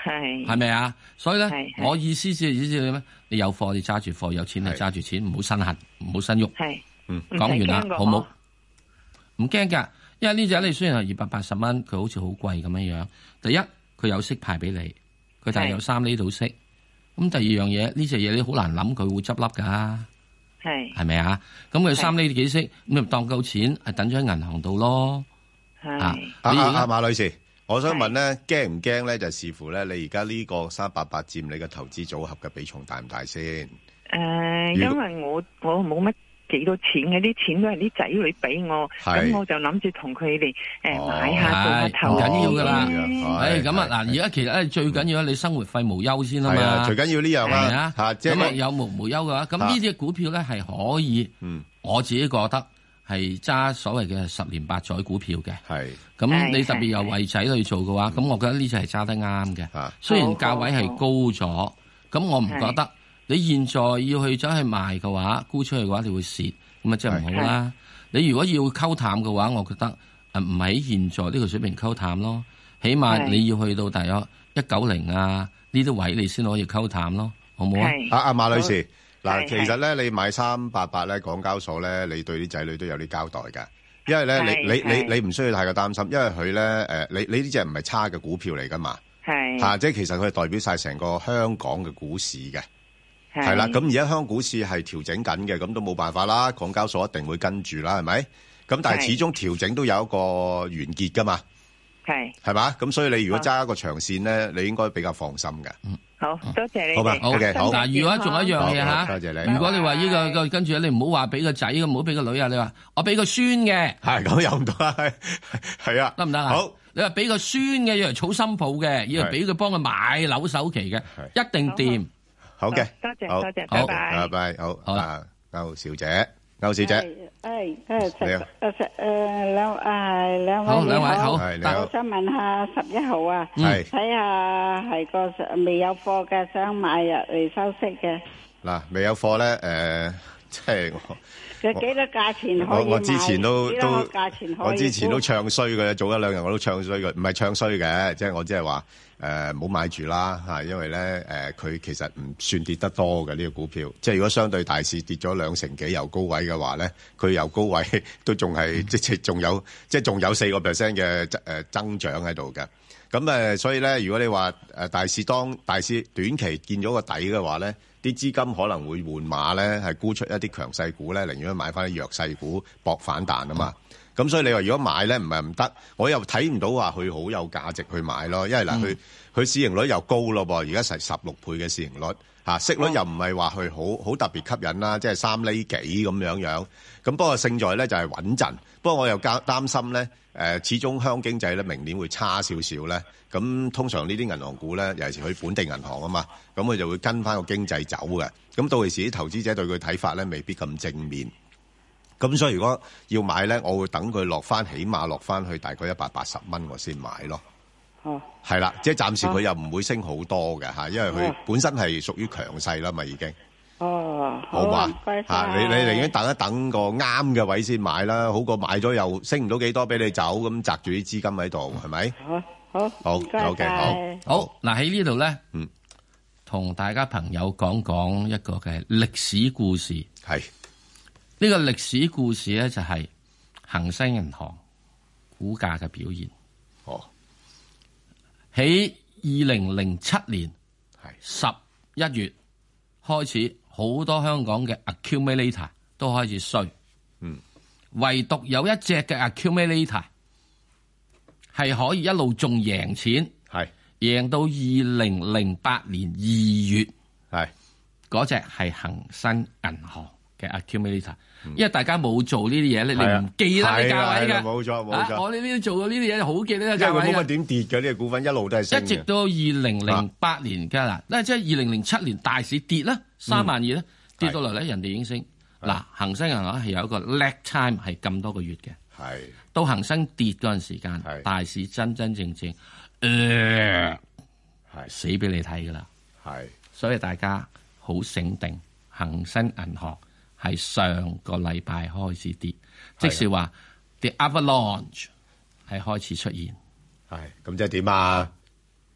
Speaker 19: 係
Speaker 1: 係咪啊？所以咧，我意思即係意思係咩？你有貨你揸住貨，有錢你揸住錢，唔好身痕，唔好身喐。
Speaker 19: 係，
Speaker 1: 嗯，講完啦，好冇？唔驚㗎，因為呢隻你雖然係二百八十蚊，佢好似好貴咁樣樣。第一，佢有息派俾你，佢但係有三厘到息。咁第二樣嘢，呢隻嘢你好難諗佢會執笠㗎。
Speaker 19: 係
Speaker 1: 係咪啊？咁佢三厘幾息，咁咪當夠錢，係等咗喺銀行度咯。
Speaker 19: 係
Speaker 2: 啊，阿阿馬女士，我想問咧，驚唔驚咧？就視乎咧，你而家呢個三八八佔你嘅投資組合嘅比重大唔大先？
Speaker 19: 誒、呃，因為我我冇乜幾多錢嘅，啲錢都係啲仔女俾我，咁我就諗住同佢哋誒買下做下投資。唔緊要噶啦，誒咁啊嗱，而家其實咧最緊要咧，你生活費無憂先啊嘛，
Speaker 2: 最緊要呢樣啦嚇，
Speaker 19: 咁
Speaker 1: 啊有無無憂嘅話，咁呢啲股票咧係可以，我自己覺得係揸所謂嘅十年八載股票嘅。係咁，你特別有為仔去做嘅話，咁我覺得呢隻係揸得啱嘅。雖然價位係高咗，咁我唔覺得。你現在要去走去賣嘅話，沽出去嘅話，你會蝕，咁啊真係唔好啦。你如果要溝淡嘅話，我覺得誒唔喺現在呢個水平溝淡咯，起碼你要去到大約一九零啊呢啲位，你先可以溝淡咯，好唔好啊？
Speaker 2: 阿阿馬女士，嗱，其實咧你買三八八咧，港交所咧，你對啲仔女都有啲交代㗎，因為咧你你你你唔需要太過擔心，因為佢咧誒你你呢隻唔係差嘅股票嚟㗎嘛，係嚇，即係其實佢係代表晒成個香港嘅股市嘅。係啦，咁而家香港股市係調整緊嘅，咁都冇辦法啦。港交所一定會跟住啦，係咪？咁但係始終調整都有一個完結噶嘛，係係嘛？咁所以你如果揸一個長線咧，你應該比較放心嘅。嗯，好多謝你。好嘛，好嘅，好。
Speaker 1: 嗱，如果仲有一樣嘢吓，多謝你。如果你話呢個個跟住你唔好話俾個仔，唔好俾個女啊，你話我俾個孫嘅，係咁又唔得啦，係啊，得唔得啊？好，你話俾個孫嘅，要嚟儲新抱嘅，要嚟俾佢幫佢買樓首期嘅，一定掂。
Speaker 2: 好嘅，
Speaker 19: 多謝多謝，拜拜，
Speaker 2: 拜拜，好，好啦，歐小姐，歐小姐，
Speaker 20: 誒誒食誒食誒兩誒兩位你好，但我想問下十一號啊，睇下係個未有貨嘅，想買入嚟收息嘅。
Speaker 2: 嗱，未有貨咧，誒，即係我。
Speaker 20: 佢幾多價錢可以買？我
Speaker 2: 我之前都都，
Speaker 20: 我
Speaker 2: 之前都唱衰嘅，早一兩日我都唱衰嘅，唔係唱衰嘅，即係我即係話誒，唔好買住啦嚇，因為咧誒，佢其實唔算跌得多嘅呢個股票，即係如果相對大市跌咗兩成幾由高位嘅話咧，佢由高位都仲係即係仲有即係仲有四個 percent 嘅誒增長喺度嘅。咁誒，所以咧，如果你話誒大市當大市短期見咗個底嘅話咧，啲資金可能會換馬咧，係沽出一啲強勢股咧，寧願買翻啲弱勢股搏反彈啊嘛。咁所以你話如果買咧唔係唔得，我又睇唔到話佢好有價值去買咯，因為嗱佢佢市盈率又高咯噃，而家成十六倍嘅市盈率嚇，息率又唔係話佢好好特別吸引啦，即係三厘幾咁樣樣。咁不過勝在咧就係穩陣，不過我又擔擔心咧。誒，始終香港經濟咧，明年會差少少咧。咁通常呢啲銀行股咧，尤其是佢本地銀行啊嘛，咁佢就會跟翻個經濟走嘅。咁到時啲投資者對佢睇法咧，未必咁正面。咁所以如果要買咧，我會等佢落翻，起碼落翻去大概一百八十蚊，我先買咯。哦，係啦，即係暫時佢又唔會升好多嘅嚇，因為佢本身係屬於強勢啦嘛，已經。哦，好嘛，嚇你你寧願等一等個啱嘅位先買啦，好過買咗又升唔到幾多俾你走，咁擲住啲資金喺度，係咪？好，好，好，好嘅，好，
Speaker 1: 好嗱喺呢度咧，嗯，同大家朋友講講一個嘅歷史故事，係呢個歷史故事咧就係恒生銀行股價嘅表現。哦，喺二零零七年係十一月開始。好多香港嘅 accumulator 都開始衰，嗯，唯獨有一隻嘅 accumulator 係可以一路仲贏錢，係贏到二零零八年二月，係嗰隻係恒生銀行嘅 accumulator，嗯，因為大家冇做呢啲嘢咧，你唔記得啲價位嘅，冇錯冇錯，我哋呢啲做過呢啲嘢好記得啲價位嘅，因為佢冇乜點跌嘅呢個股份一路都係升嘅，一直到二零零八年㗎啦，嗱即係二零零七年大市跌啦。三萬二咧跌到嚟咧，人哋已經升。嗱，恒生銀行係有一個 lag time 係咁多個月嘅。係到恒生跌嗰陣時間，大市真真正正，誒、呃、係死俾你睇噶啦。係，所以大家好醒定，恒生銀行係上個禮拜開始跌，即是話 the avalanche 係開始出現。係咁即係點啊？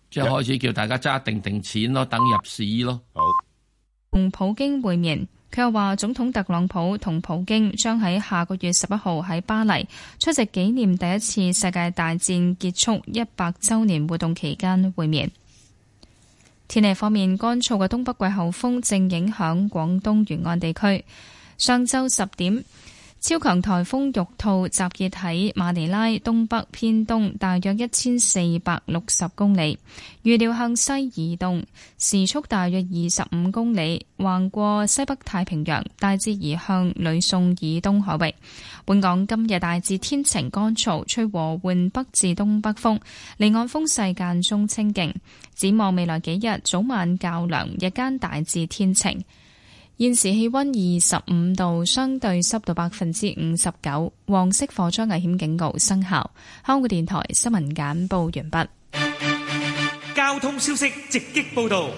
Speaker 1: 即係開始叫大家揸定定錢咯，等入市咯。
Speaker 2: 好，
Speaker 5: 同普京會面。佢又話，總統特朗普同普京將喺下個月十一號喺巴黎出席紀念第一次世界大戰結束一百週年活動期間會面。天氣方面，乾燥嘅東北季候風正影響廣東沿岸地區。上晝十點，超強颱風玉兔集結喺馬尼拉東北偏東大約一千四百六十公里，預料向西移動，時速大約二十五公里，橫過西北太平洋，大致移向呂宋以東海域。本港今日大致天晴乾燥，吹和緩北至東北風，離岸風勢間中清勁。展望未來幾日，早晚較涼，日間大致天晴。現時氣溫二十五度，相對濕度百分之五十九，黃色火災危險警告生效。香港電台新聞簡報完畢。
Speaker 4: 交通消息直擊報道。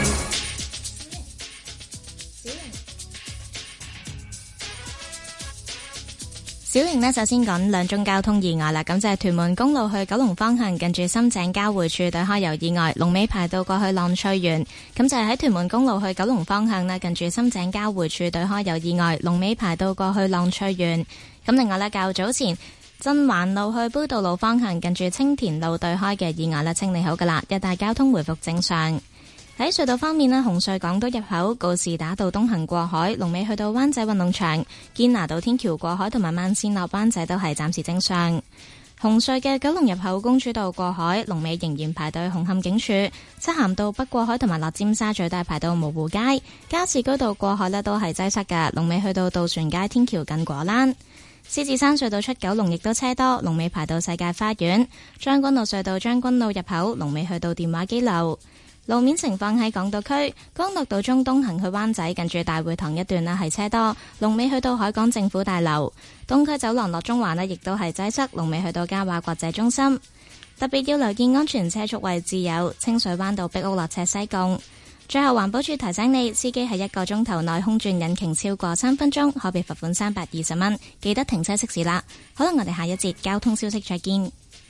Speaker 6: 小瑩呢，首先講兩宗交通意外啦，咁就係屯門公路去九龍方向近住深井交匯處對開有意外，龍尾排到過去浪翠園。咁就係喺屯門公路去九龍方向呢，近住深井交匯處對開有意外，龍尾排到過去浪翠園。咁另外呢，較早前真環路去杯渡路方向近住青田路對開嘅意外呢，清理好噶啦，一帶交通回復正常。喺隧道方面呢，紅隧港島入口告士打道東行過海，龍尾去到灣仔運動場，堅拿道天橋過海同埋慢線落灣仔都係暫時正常。紅隧嘅九龍入口公主道過海，龍尾仍然排到紅磡警署，漆咸道北過海同埋落尖沙咀都係排到蕪湖街，加士居道過海呢都係擠塞㗎，龍尾去到渡船街天橋近果欄。獅子山隧道出九龍亦都車多，龍尾排到世界花園。將軍澳隧道將軍澳入口，龍尾去到電話機樓。路面情況喺港島區，干諾道中東行去灣仔近住大會堂一段呢係車多，龍尾去到海港政府大樓。東區走廊落中環呢亦都係擠塞，龍尾去到嘉華國際中心。特別要留意安全車速位置有清水灣道碧屋落斜西貢。最後環保署提醒你，司機喺一個鐘頭內空轉引擎超過三分鐘，可被罰款三百二十蚊。記得停車熄匙啦。好啦，我哋下一節交通消息再見。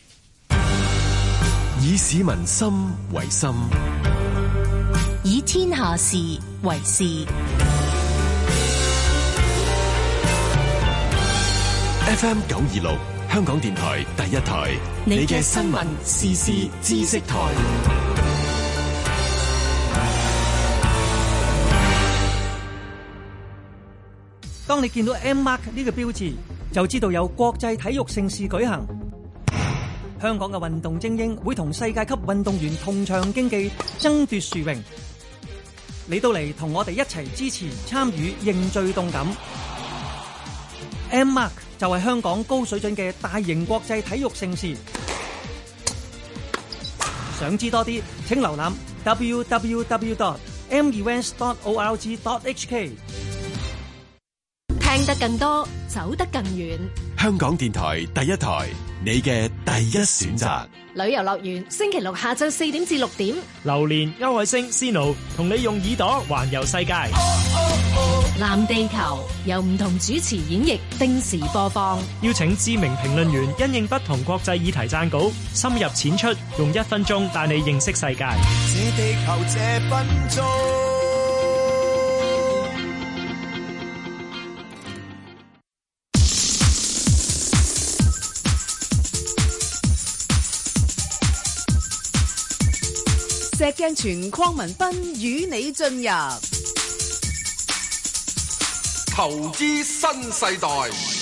Speaker 8: 以市民心為心，
Speaker 7: 以天下事為事。
Speaker 8: F M 九二六，香港電台第一台，你嘅新聞時事知識台。
Speaker 21: 當你見到 M Mark 呢個標誌，就知道有國際體育盛事舉行。香港嘅運動精英會同世界級運動員同場競技，爭奪殊榮。你到嚟同我哋一齊支持、參與、認罪動感。M Mark 就係香港高水準嘅大型國際體育盛事。想知多啲，請瀏覽 w w w dot m events dot org dot h k。
Speaker 7: 聽得更多，走得更遠。
Speaker 8: 香港電台第一台，你嘅第一選擇。
Speaker 7: 旅遊樂園星期六下晝四點至六點，
Speaker 22: 榴蓮、歐海星、Sino 同你用耳朵環遊世界。
Speaker 7: 藍地球由唔同主持演繹，定時播放。
Speaker 22: 邀請知名評論員因應不同國際議題撰稿，深入淺出，用一分鐘帶你認識世界。
Speaker 23: 這地球這分鐘。
Speaker 14: 石鏡泉鄺民彬與你進入
Speaker 15: 投資新世代。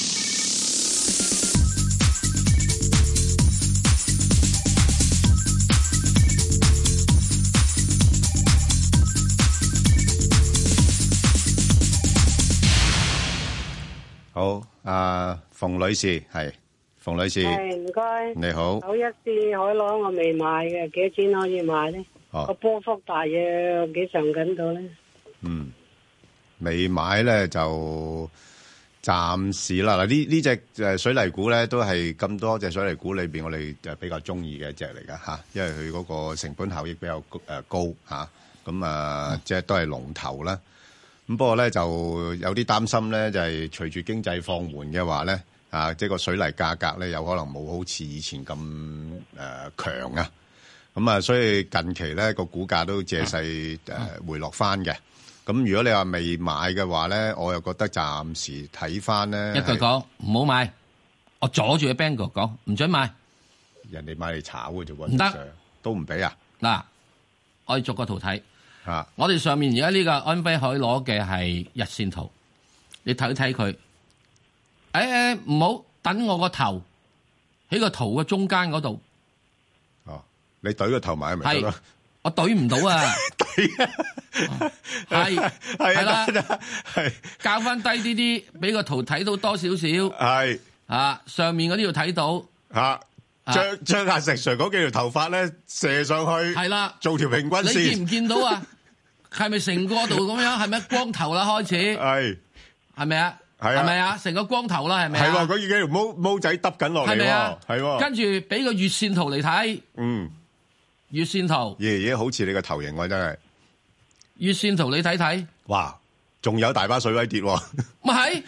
Speaker 2: 好，阿馮女士係馮女士，
Speaker 24: 係唔該，
Speaker 2: 你好。
Speaker 24: 九一四海螺我未買嘅，幾多錢可以買咧？個波幅大約幾上緊到咧？
Speaker 2: 嗯，未買咧就暫時啦。嗱，呢呢隻誒水泥股咧，都係咁多隻水泥股裏邊，我哋就比較中意嘅一隻嚟噶吓，因為佢嗰個成本效益比較誒高吓，咁啊即係都係龍頭啦。咁不過咧就有啲擔心咧，就係隨住經濟放緩嘅話咧，啊即係個水泥價格咧有可能冇好似以前咁誒強啊。 咁啊，所以近期咧個股價都借勢誒回落翻嘅。咁、嗯、如果你話未買嘅話咧，我又覺得暫時睇翻咧。
Speaker 1: 一句講唔好買，我阻住阿 Bang 哥講唔准買。
Speaker 2: 人哋買嚟炒嘅啫喎，
Speaker 1: 唔得
Speaker 2: 都唔俾啊！嗱，
Speaker 1: 我哋逐個圖睇。
Speaker 2: 啊！
Speaker 1: 我哋上面而家呢個安徽海攞嘅係日線圖，你睇睇佢。誒、哎、誒，唔好等我個頭喺個圖嘅中間嗰度。
Speaker 2: 哦，你懟個頭埋咪得咯？
Speaker 1: 我懟唔到啊！懟啊！係係啦，係較翻低啲啲，俾個圖睇到多少少。
Speaker 2: 係
Speaker 1: 啊，上面嗰啲要睇到。
Speaker 2: 吓。將將阿石 Sir 嗰幾條頭髮咧射上去，
Speaker 1: 係啦，
Speaker 2: 做條平均線。
Speaker 1: 你見唔見到啊？係咪成個度咁樣？係咪光頭啦？開始係係咪啊？係啊？係咪啊？成個光頭啦？係咪啊？
Speaker 2: 係喎，嗰幾條毛毛仔耷緊落嚟喎，係喎。
Speaker 1: 跟住俾個月線圖嚟睇，
Speaker 2: 嗯，
Speaker 1: 月線圖，
Speaker 2: 爺爺好似你個頭型喎，真係。
Speaker 1: 月線圖你睇睇，
Speaker 2: 哇，仲有大把水位跌喎。
Speaker 1: 咪係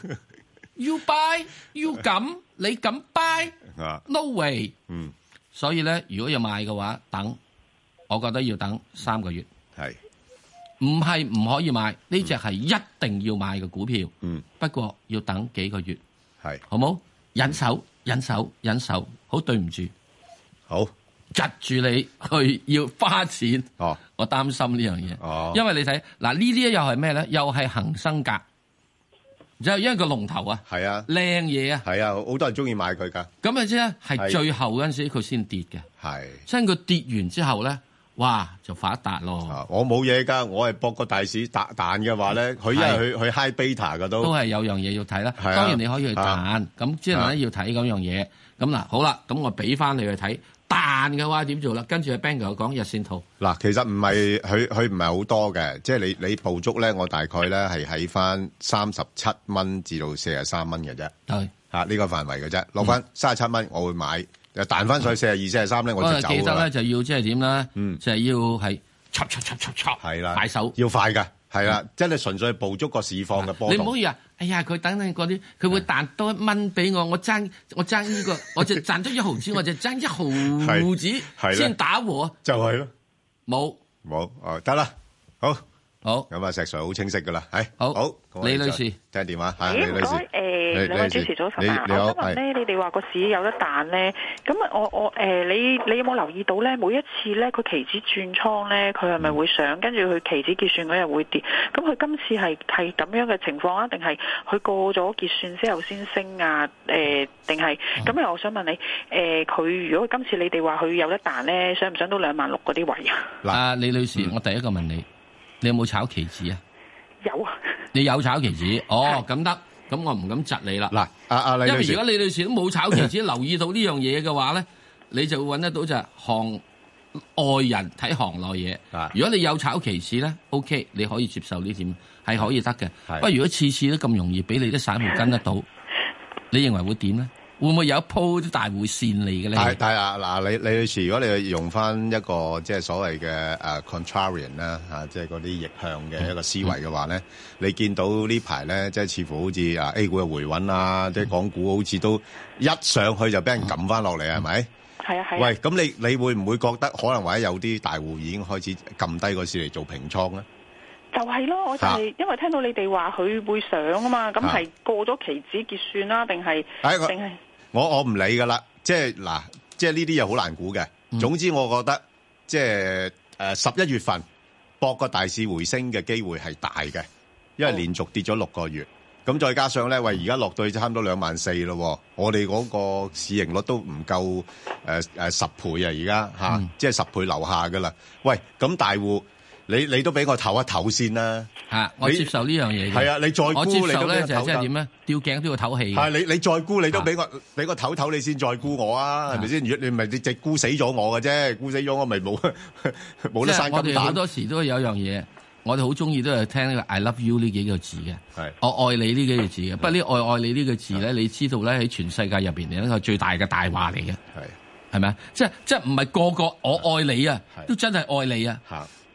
Speaker 1: ？You buy, you 咁，你咁 buy？No way，
Speaker 2: 嗯，
Speaker 1: 所以咧，如果要買嘅話，等，我覺得要等三個月，
Speaker 2: 係，
Speaker 1: 唔係唔可以買？呢隻係一定要買嘅股票，
Speaker 2: 嗯，
Speaker 1: 不過要等幾個月，
Speaker 2: 係，
Speaker 1: 好冇？忍手，忍手，忍手，好對唔住，
Speaker 2: 好，
Speaker 1: 窒住你去要花錢，
Speaker 2: 哦，
Speaker 1: 我擔心呢樣嘢，
Speaker 2: 哦，
Speaker 1: 因為你睇嗱呢啲又係咩咧？又係恒生格。就因為個龍頭啊，
Speaker 2: 係啊，
Speaker 1: 靚嘢啊，
Speaker 2: 係啊，好多人中意買佢噶。
Speaker 1: 咁啊，即係係最後嗰陣時佢先跌嘅，
Speaker 2: 係。
Speaker 1: 即係佢跌完之後咧，哇就發達咯。
Speaker 2: 啊、我冇嘢㗎，我係博個大市彈彈嘅話咧，佢因為佢佢 high beta 㗎都。
Speaker 1: 都係有樣嘢要睇啦。
Speaker 2: 啊、
Speaker 1: 當然你可以去彈，咁即係咧要睇嗰樣嘢。咁、啊、嗱好啦，咁我俾翻你去睇彈嘅話點做啦？跟住阿 Bang 哥講日線圖。
Speaker 2: 嗱，其實唔係佢佢唔係好多嘅，即係你你捕捉咧，我大概咧係喺翻三十七蚊至到四十三蚊嘅啫。
Speaker 1: 係
Speaker 2: 嚇呢個範圍嘅啫，落翻三十七蚊我會買，又彈翻上去四十二、四十三咧我就走啦。
Speaker 1: 記得咧就要即係點咧？
Speaker 2: 嗯，
Speaker 1: 就係要係插插插插插，
Speaker 2: 係啦，
Speaker 1: 買手
Speaker 2: 要快㗎，係啦，真係純粹捕捉個市況嘅波動。
Speaker 1: 你唔好以為，哎呀佢等等嗰啲，佢會彈多一蚊俾我，我爭我爭呢個，我就賺咗一毫子，我就爭一毫子先打和，
Speaker 2: 就係咯，
Speaker 1: 冇
Speaker 2: 冇哦，得啦，好。
Speaker 1: 好，
Speaker 2: 咁啊石 Sir 好清晰噶啦，係
Speaker 1: 好，
Speaker 2: 好，
Speaker 1: 李女士
Speaker 2: 聽電話，係
Speaker 3: 李女士，誒兩位主持早晨啊，我想問咧，你哋話個市有得彈咧，咁啊我我誒你你有冇留意到咧？每一次咧佢期指轉倉咧，佢係咪會上，跟住佢期指結算嗰日會跌？咁佢今次係係咁樣嘅情況啊？定係佢過咗結算之後先升啊？誒定係咁啊？我想問你，誒佢如果今次你哋話佢有得彈咧，上唔上到兩萬六嗰啲位啊？
Speaker 1: 嗱，李女士，我第一個問你。你有冇炒期指啊？
Speaker 3: 有啊。你
Speaker 1: 有炒期指？哦，咁得，咁我唔敢窒你啦。
Speaker 2: 嗱，阿阿李女士，
Speaker 1: 因為如果李女士都冇炒期指，留意到呢樣嘢嘅話咧，你就會揾得到就係行外人睇行內嘢。如果你有炒期指咧 ，OK， 你可以接受呢點係可以得嘅。不過如果次次都咁容易俾你啲散戶跟得到，你認為會點咧？會唔會有一鋪啲大會線嚟嘅咧？
Speaker 2: 係係啊，嗱，李李女士，如果你用翻一個即係所謂嘅誒 contrarian 啦嚇，即係嗰啲逆向嘅一個思維嘅話咧，嗯、你見到呢排咧，即係似乎好似啊 A 股嘅回穩啊，嗯、即係港股好似都一上去就俾人撳翻落嚟，係咪？
Speaker 3: 係啊係。
Speaker 2: 喂，咁你你會唔會覺得可能或者有啲大戶已經開始撳低個市嚟做平倉咧？
Speaker 3: 就係咯，我就係、是、因為聽到你哋話佢會上啊嘛，咁係過咗期指結算啦，定係定係？
Speaker 2: 我我唔理噶啦，即係嗱，即係呢啲又好難估嘅。嗯、總之我覺得，即係誒十一月份博個大市回升嘅機會係大嘅，因為連續跌咗六個月，咁、哦、再加上咧，喂而家落到去差唔多兩萬四咯，我哋嗰個市盈率都唔夠誒誒十倍啊，而家吓，即係十倍樓下噶啦。喂，咁大戶。你你都俾我唞一唞先啦，
Speaker 1: 嚇！我接受呢樣嘢嘅。係
Speaker 2: 啊，你再沽
Speaker 1: 我接受咧
Speaker 2: 你都
Speaker 1: 就係即係點咧？吊頸都要唞氣。
Speaker 2: 係你你再沽你都俾我俾我唞唞你先再沽我啊？係咪先？如果你唔係你直沽死咗我嘅啫，沽死咗我咪冇冇得生金蛋。
Speaker 1: 即係我哋好多時都有一樣嘢，我哋好中意都係聽呢個 I love you 呢幾個字嘅。係我愛你呢幾個字嘅。不過呢愛愛你呢個字咧，你知道咧喺全世界入邊係一個最大嘅大話嚟嘅。係係咪啊？即係即係唔係個個我愛你啊，都真係愛你啊。嚇！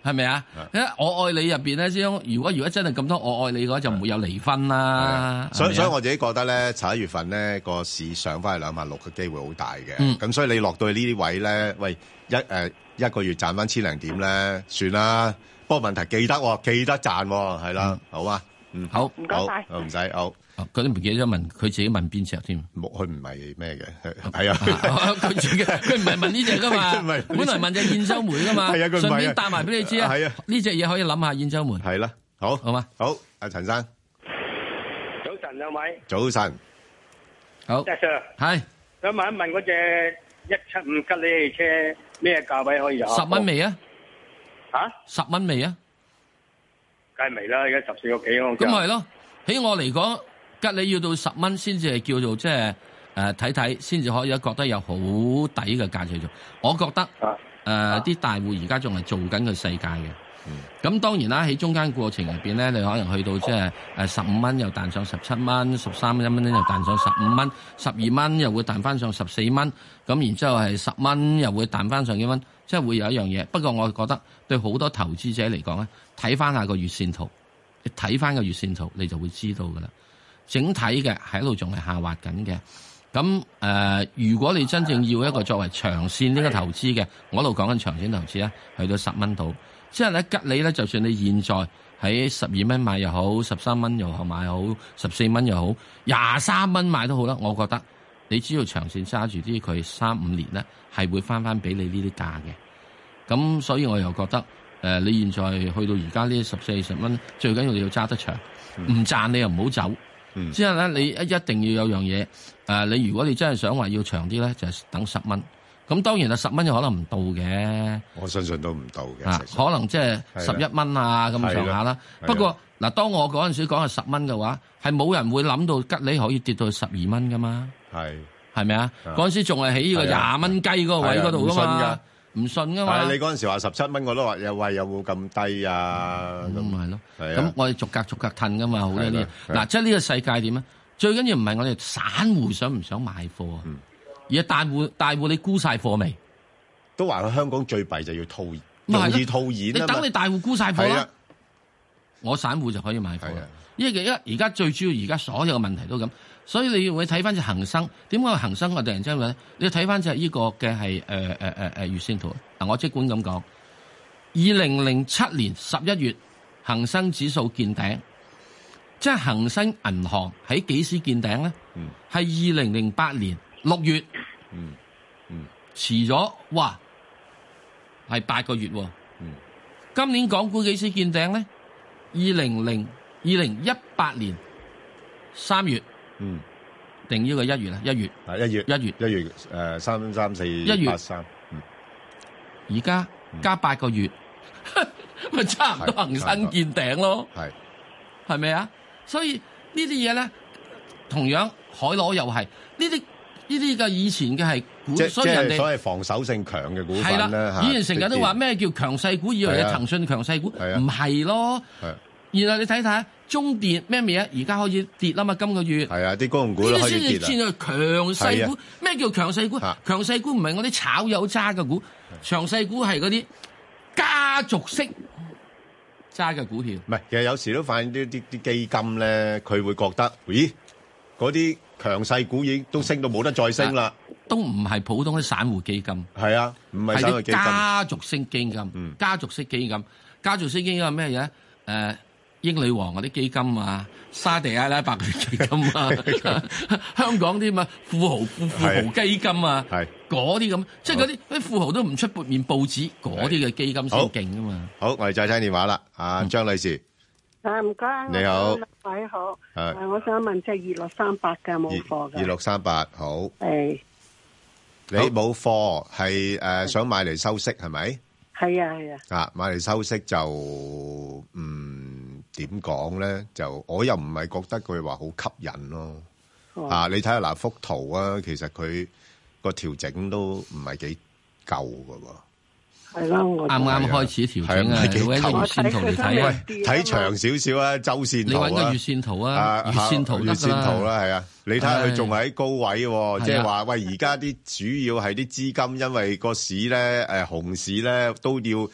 Speaker 1: 係咪啊？我愛你入邊咧，將如果如果真係咁多我愛你嘅話，就唔會有離婚啦。
Speaker 2: 所以所以我自己覺得咧，十一月份咧個市上翻去兩萬六嘅機會好大嘅。咁、嗯、所以你落到去呢啲位咧，喂一誒、呃、一個月賺翻千零點咧，算啦。不過問題記得、哦、記得賺係啦，嗯、好啊，嗯
Speaker 1: 好
Speaker 3: 唔該晒，
Speaker 2: 唔使好。
Speaker 1: 佢都唔記得問，佢自己問邊隻添？
Speaker 2: 冇，佢唔係咩嘅，係啊，
Speaker 1: 佢自己佢唔係問呢隻噶嘛，本來問隻兗州煤噶嘛，係啊，佢唔係順便答埋俾你知啊，係啊，呢隻嘢可以諗下兗州煤，
Speaker 2: 係啦，好，
Speaker 1: 好嘛，
Speaker 2: 好，阿陳生，
Speaker 9: 早晨兩位，
Speaker 2: 早晨，
Speaker 1: 好，
Speaker 9: 石 Sir，
Speaker 1: 係，
Speaker 9: 想問一問嗰隻一七五吉利汽車咩價位可以有？
Speaker 1: 十蚊未啊？
Speaker 9: 吓？十
Speaker 1: 蚊未啊？
Speaker 9: 梗係未啦，而家十四個幾我。
Speaker 1: 咁咪係咯，喺我嚟講。吉利要到十蚊先至係叫做即係誒睇睇，先、呃、至可以覺得有好抵嘅價值做。我覺得誒啲、啊呃、大戶而家仲係做緊個世界嘅。咁、嗯、當然啦，喺中間過程入邊咧，你可能去到即係誒十五蚊又彈上十七蚊，十三蚊又彈上十五蚊，十二蚊又會彈翻上十四蚊。咁然之後係十蚊又會彈翻上幾蚊，即係會有一樣嘢。不過我覺得對好多投資者嚟講咧，睇翻下個月線圖，你睇翻個月線圖，你就會知道噶啦。整體嘅喺度仲係下滑緊嘅，咁誒、呃，如果你真正要一個作為長線呢個投資嘅，我度講緊長線投資啊，去到十蚊度，之後咧吉利咧，就算你現在喺十二蚊買又好，十三蚊又好買好，十四蚊又好，廿三蚊買都好啦，我覺得你只要長線揸住啲佢三五年咧，係會翻翻俾你呢啲價嘅，咁所以我又覺得誒、呃，你現在去到而家呢十四十蚊，最緊要你要揸得長，唔、嗯、賺你又唔好走。嗯、之後咧，你一一定要有樣嘢，誒、呃，你如果你真係想話要長啲咧，就係、等十蚊。咁當然啦，十蚊有可能唔到嘅。
Speaker 2: 我相信都唔到嘅、
Speaker 1: 啊。可能即係十一蚊啊咁上下啦。不過嗱，當我嗰陣時講係十蚊嘅話，係冇人會諗到吉利可以跌到去十二蚊噶嘛。係係咪啊？嗰陣時仲係喺呢個廿蚊雞嗰個位嗰度噶嘛。唔信噶嘛？
Speaker 2: 你嗰陣時話十七蚊，我都話有喂有冇咁低啊？咁
Speaker 1: 咪咯。咁我哋逐格逐格褪噶嘛，好多啲。嗱，即係呢個世界點啊？最緊要唔係我哋散戶想唔想買貨啊、嗯，而係大戶大戶你沽晒貨未？
Speaker 2: 都話佢香港最弊就要套現，容易套現。你
Speaker 1: 等你大戶沽晒貨啦，我散戶就可以買貨。因為而而家最主要而家所有嘅問題都咁。所以你會睇翻隻恒生，點解恒生我突然之間咧？你要睇翻隻呢個嘅係誒誒誒誒月線圖。嗱，我即管咁講，二零零七年十一月恒生指數見頂，即係恒生銀行喺幾時見頂咧？係二零零八年六月，嗯嗯，遲咗，哇，係八個月喎。嗯，今年港股幾時見頂咧？二零零二零一八年三月。嗯，定呢個一月啦，一月
Speaker 2: 啊，一月
Speaker 1: 一月
Speaker 2: 一月誒，三三四一月八三，嗯，
Speaker 1: 而家加八個月，咪、嗯、差唔多恒生見頂咯，係係咪啊？所以呢啲嘢咧，同樣海螺又係呢啲呢啲嘅以前嘅係股，所以人哋
Speaker 2: 所謂防守性強嘅股份咧，
Speaker 1: 以前成日都話咩叫強勢股，以為係騰訊強勢股，唔係咯，然後你睇睇。中電咩嘢啊？而家開始跌啦嘛，今個月
Speaker 2: 係啊，啲公用股都開始跌啦。呢啲先至強勢股，咩叫強勢股？強勢股唔係我啲炒友揸嘅股，強勢股係嗰啲家族式揸嘅股票。唔係，其實有時都發現啲啲啲基金咧，佢會覺得，咦，嗰啲強勢股已經都升到冇得再升啦。都唔係普通啲散戶基金，係啊，唔係散戶基金，係啲家族式基金。嗯，家族式基金，家族式基金係咩嘢？誒。英女王嗰啲基金啊，沙地阿拉伯嗰啲基金啊，香港啲嘛富豪富富豪基金啊，嗰啲咁，即係嗰啲啲富豪都唔出撥面報紙，嗰啲嘅基金先勁啊嘛。好，我哋再聽電話啦，阿張女士。啊，唔該。你好。喂，好。誒，我想問隻二六三八嘅冇貨嘅。二六三八好。誒。你冇貨係誒想買嚟收息係咪？係啊係啊。啊，買嚟收息就嗯。點講咧？就我又唔係覺得佢話好吸引咯。哦、啊，你睇下嗱幅圖啊，其實佢個調整都唔係幾夠噶喎。係咯，啱啱開始調整啊！你揾個月線圖嚟睇啊，睇長少少啊，周線圖啊。你揾個月線圖啊，月線圖月線圖啦，係啊。你睇下佢仲喺高位喎，即係話喂，而家啲主要係啲資金，因為個市咧誒熊市咧都要。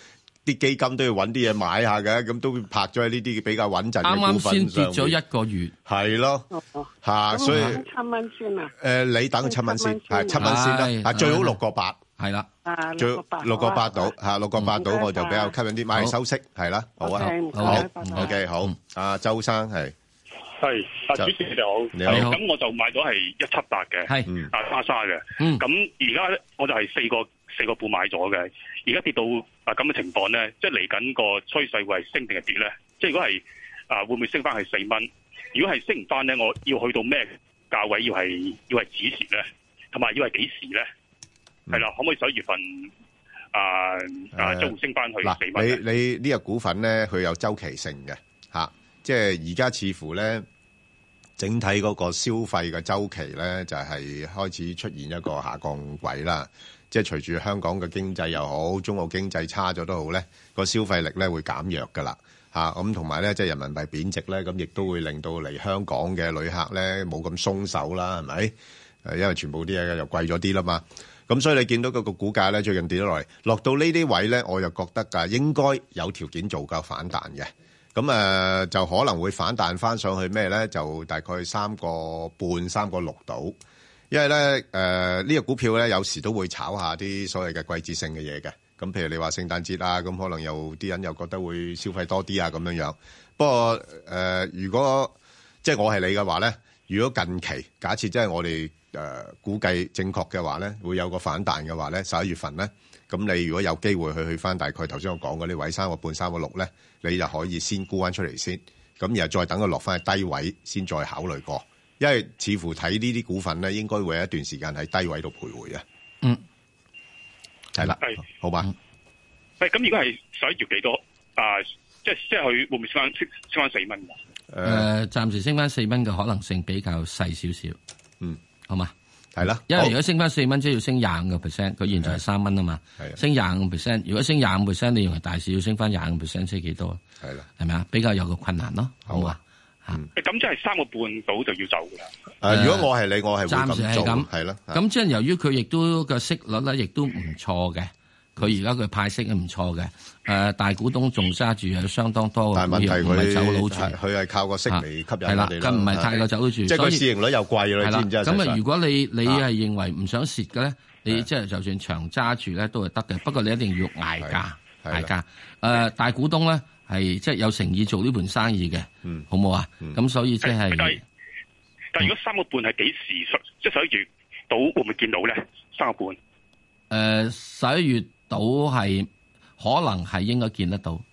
Speaker 2: 啲基金都要揾啲嘢買下嘅，咁都拍咗喺呢啲比較穩陣嘅股份上面。啱啱先跌咗一個月，係咯，嚇，所以
Speaker 24: 七蚊先啊。
Speaker 2: 誒，你等佢七蚊先，係七蚊先啦，啊，最好六個八，係啦，最六個八到嚇，六個八到我就比較吸引啲，買嚟收息係啦，好啊，好 OK 好，阿周生係。
Speaker 10: 係，啊主持你好，你好，咁我就買咗係一七八嘅，係，啊莎莎嘅，咁而家咧我就係四個四個半買咗嘅，而家跌到啊咁嘅情況咧，即係嚟緊個趨勢會係升定係跌咧？即係如果係啊會唔會升翻係四蚊？如果係升唔翻咧，我要去到咩價位？要係要係止蝕咧，同埋要係幾時咧？係啦，可唔可以十一月份啊啊將會升翻去四蚊？
Speaker 2: 你你呢個股份咧，佢有周期性嘅嚇，即係而家似乎咧。整體嗰個消費嘅周期咧，就係開始出現一個下降軌啦。即係隨住香港嘅經濟又好，中國經濟差咗都好咧，個消費力咧會減弱噶啦嚇。咁同埋咧，即係人民幣貶值咧，咁亦都會令到嚟香港嘅旅客咧冇咁鬆手啦，係咪？誒，因為全部啲嘢又貴咗啲啦嘛。咁所以你見到嗰個股價咧最近跌咗落嚟，落到呢啲位咧，我就覺得㗎應該有條件做夠反彈嘅。咁誒、呃、就可能會反彈翻上去咩咧？就大概三個半、三個六度。因為咧誒呢、呃呢個股票咧有時都會炒下啲所謂嘅季節性嘅嘢嘅。咁譬如你話聖誕節啊，咁可能有啲人又覺得會消費多啲啊咁樣樣。不過誒、呃，如果即係我係你嘅話咧，如果近期假設即係我哋誒、呃、估計正確嘅話咧，會有個反彈嘅話咧，十一月份咧。咁你如果有機會去去翻大概頭先我講嗰啲位三個半、三個六咧，你就可以先沽翻出嚟先，咁然後再等佢落翻去低位先再考慮過，因為似乎睇呢啲股份咧，應該會有一段時間喺低位度徘徊啊。嗯，係啦，係好吧。
Speaker 10: 係咁，如果係十一月幾多啊？即係即係佢會唔會升翻升升翻四蚊？誒、
Speaker 1: 呃，暫時升翻四蚊嘅可能性比較細少少。嗯，好嘛。
Speaker 2: 係啦，
Speaker 1: 因為如果升翻四蚊，即係要升廿五個 percent，佢現在係三蚊啊嘛，升廿五個 percent。如果升廿五 percent，你認為大市要升翻廿五 percent，即係幾多？係啦，係咪啊？比較有個困難咯，好啊。
Speaker 10: 嚇，咁即係三個半到就要走㗎啦。
Speaker 2: 誒，如果我係你，我係會
Speaker 1: 暫時係咁，
Speaker 2: 係咯。
Speaker 1: 咁即係由於佢亦都個息率咧，亦都唔錯嘅。佢而家佢派息係唔錯嘅，誒大股東仲揸住有相當多嘅股票，唔係走佬住，
Speaker 2: 佢係靠個息嚟吸引我哋啦。
Speaker 1: 咁唔係太過走佬住，
Speaker 2: 即係個市盈率又貴啦，你知唔知啊？
Speaker 1: 咁啊，如果你你係認為唔想蝕嘅咧，你即係就算長揸住咧都係得嘅，不過你一定要捱價，捱價。誒大股東咧係即係有誠意做呢盤生意嘅，好冇啊？咁所以即係，
Speaker 10: 但係如果三個半係幾時？即係十一月到會唔會見到咧？三個半？
Speaker 1: 誒十一月。到係可能係應該見得到，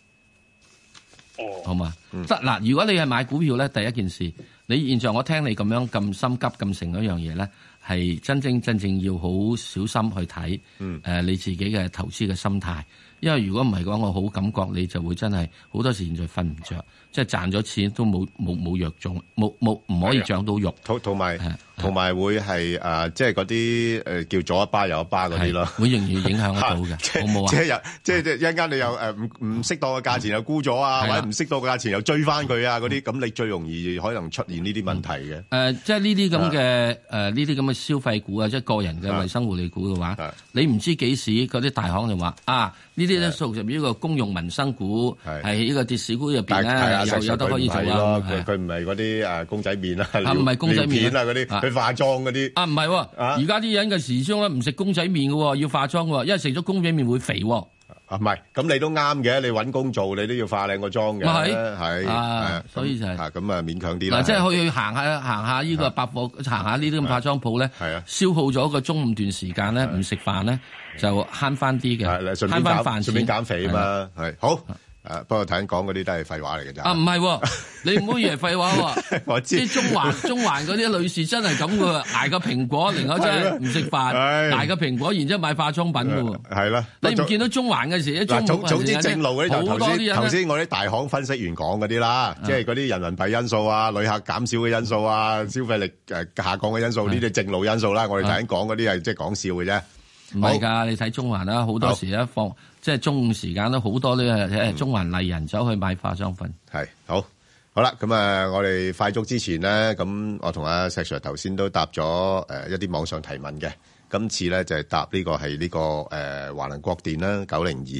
Speaker 1: 哦，好嘛？即嗱、嗯，如果你係買股票咧，第一件事，你現在我聽你咁樣咁心急咁成嗰樣嘢咧，係真正真正要好小心去睇，嗯，誒、呃，你自己嘅投資嘅心態，因為如果唔係講，我好感覺你就會真係好多時現在瞓唔着，即係賺咗錢都冇冇冇藥種，冇冇唔可以長到肉，
Speaker 2: 同同埋。同埋會係誒，即係嗰啲誒叫左一巴右一巴嗰啲咯，
Speaker 1: 會容易影響得到嘅，好冇啊？
Speaker 2: 即係又即係一陣間你又誒唔唔適當嘅價錢又沽咗啊，或者唔適當嘅價錢又追翻佢啊，嗰啲咁你最容易可能出現呢啲問題嘅。誒、
Speaker 1: 呃，即係呢啲咁嘅誒呢啲咁嘅消費股啊，即係個人嘅衞生護理股嘅話，你唔知幾時嗰啲大行就話啊，呢啲咧屬於呢個公用民生股，係呢個跌市股入邊咧又有得可以做啊。
Speaker 2: 佢佢唔係嗰啲誒公仔麵啊，
Speaker 1: 唔係公仔麵
Speaker 2: 啊嗰啲。化妝嗰啲
Speaker 1: 啊，唔係喎，而家啲人嘅時裝咧唔食公仔麵嘅，要化妝嘅，因為食咗公仔麵會肥。
Speaker 2: 啊，唔係，咁你都啱嘅，你揾工做，你都要化靚個妝嘅，係
Speaker 1: 啊，所以就係
Speaker 2: 咁啊，勉強啲啦。
Speaker 1: 嗱，即係去去行下行下呢個百貨，行下呢啲咁化妝鋪咧，係啊，消耗咗個中午段時間咧，唔食飯咧就慳翻啲嘅，慳翻飯錢，
Speaker 2: 順便減肥啊嘛，係好。誒，不過頭先講嗰啲都係廢話嚟嘅咋。
Speaker 1: 啊，唔係，你唔好以為廢話喎。
Speaker 2: 我知。
Speaker 1: 啲中環中環嗰啲女士真係咁嘅，捱個蘋果，另外真係唔食飯，捱個蘋果，然之後買化妝品嘅喎。係啦。你唔見到中環嘅時，
Speaker 2: 嗱，總總之正路嗰啲就頭先頭先我啲大行分析員講嗰啲啦，即係嗰啲人民幣因素啊、旅客減少嘅因素啊、消費力誒下降嘅因素，呢啲正路因素啦。我哋頭先講嗰啲係即係講笑嘅啫。
Speaker 1: 唔係㗎，你睇中環啦，好多時一放即係中午時間都好多呢誒中環麗人走去買化妝品。
Speaker 2: 係好，好啦，咁啊，我哋快速之前咧，咁我同阿石 Sir 頭先都答咗誒一啲網上提問嘅，今次咧就係答呢個係呢個誒華能國電啦九零二。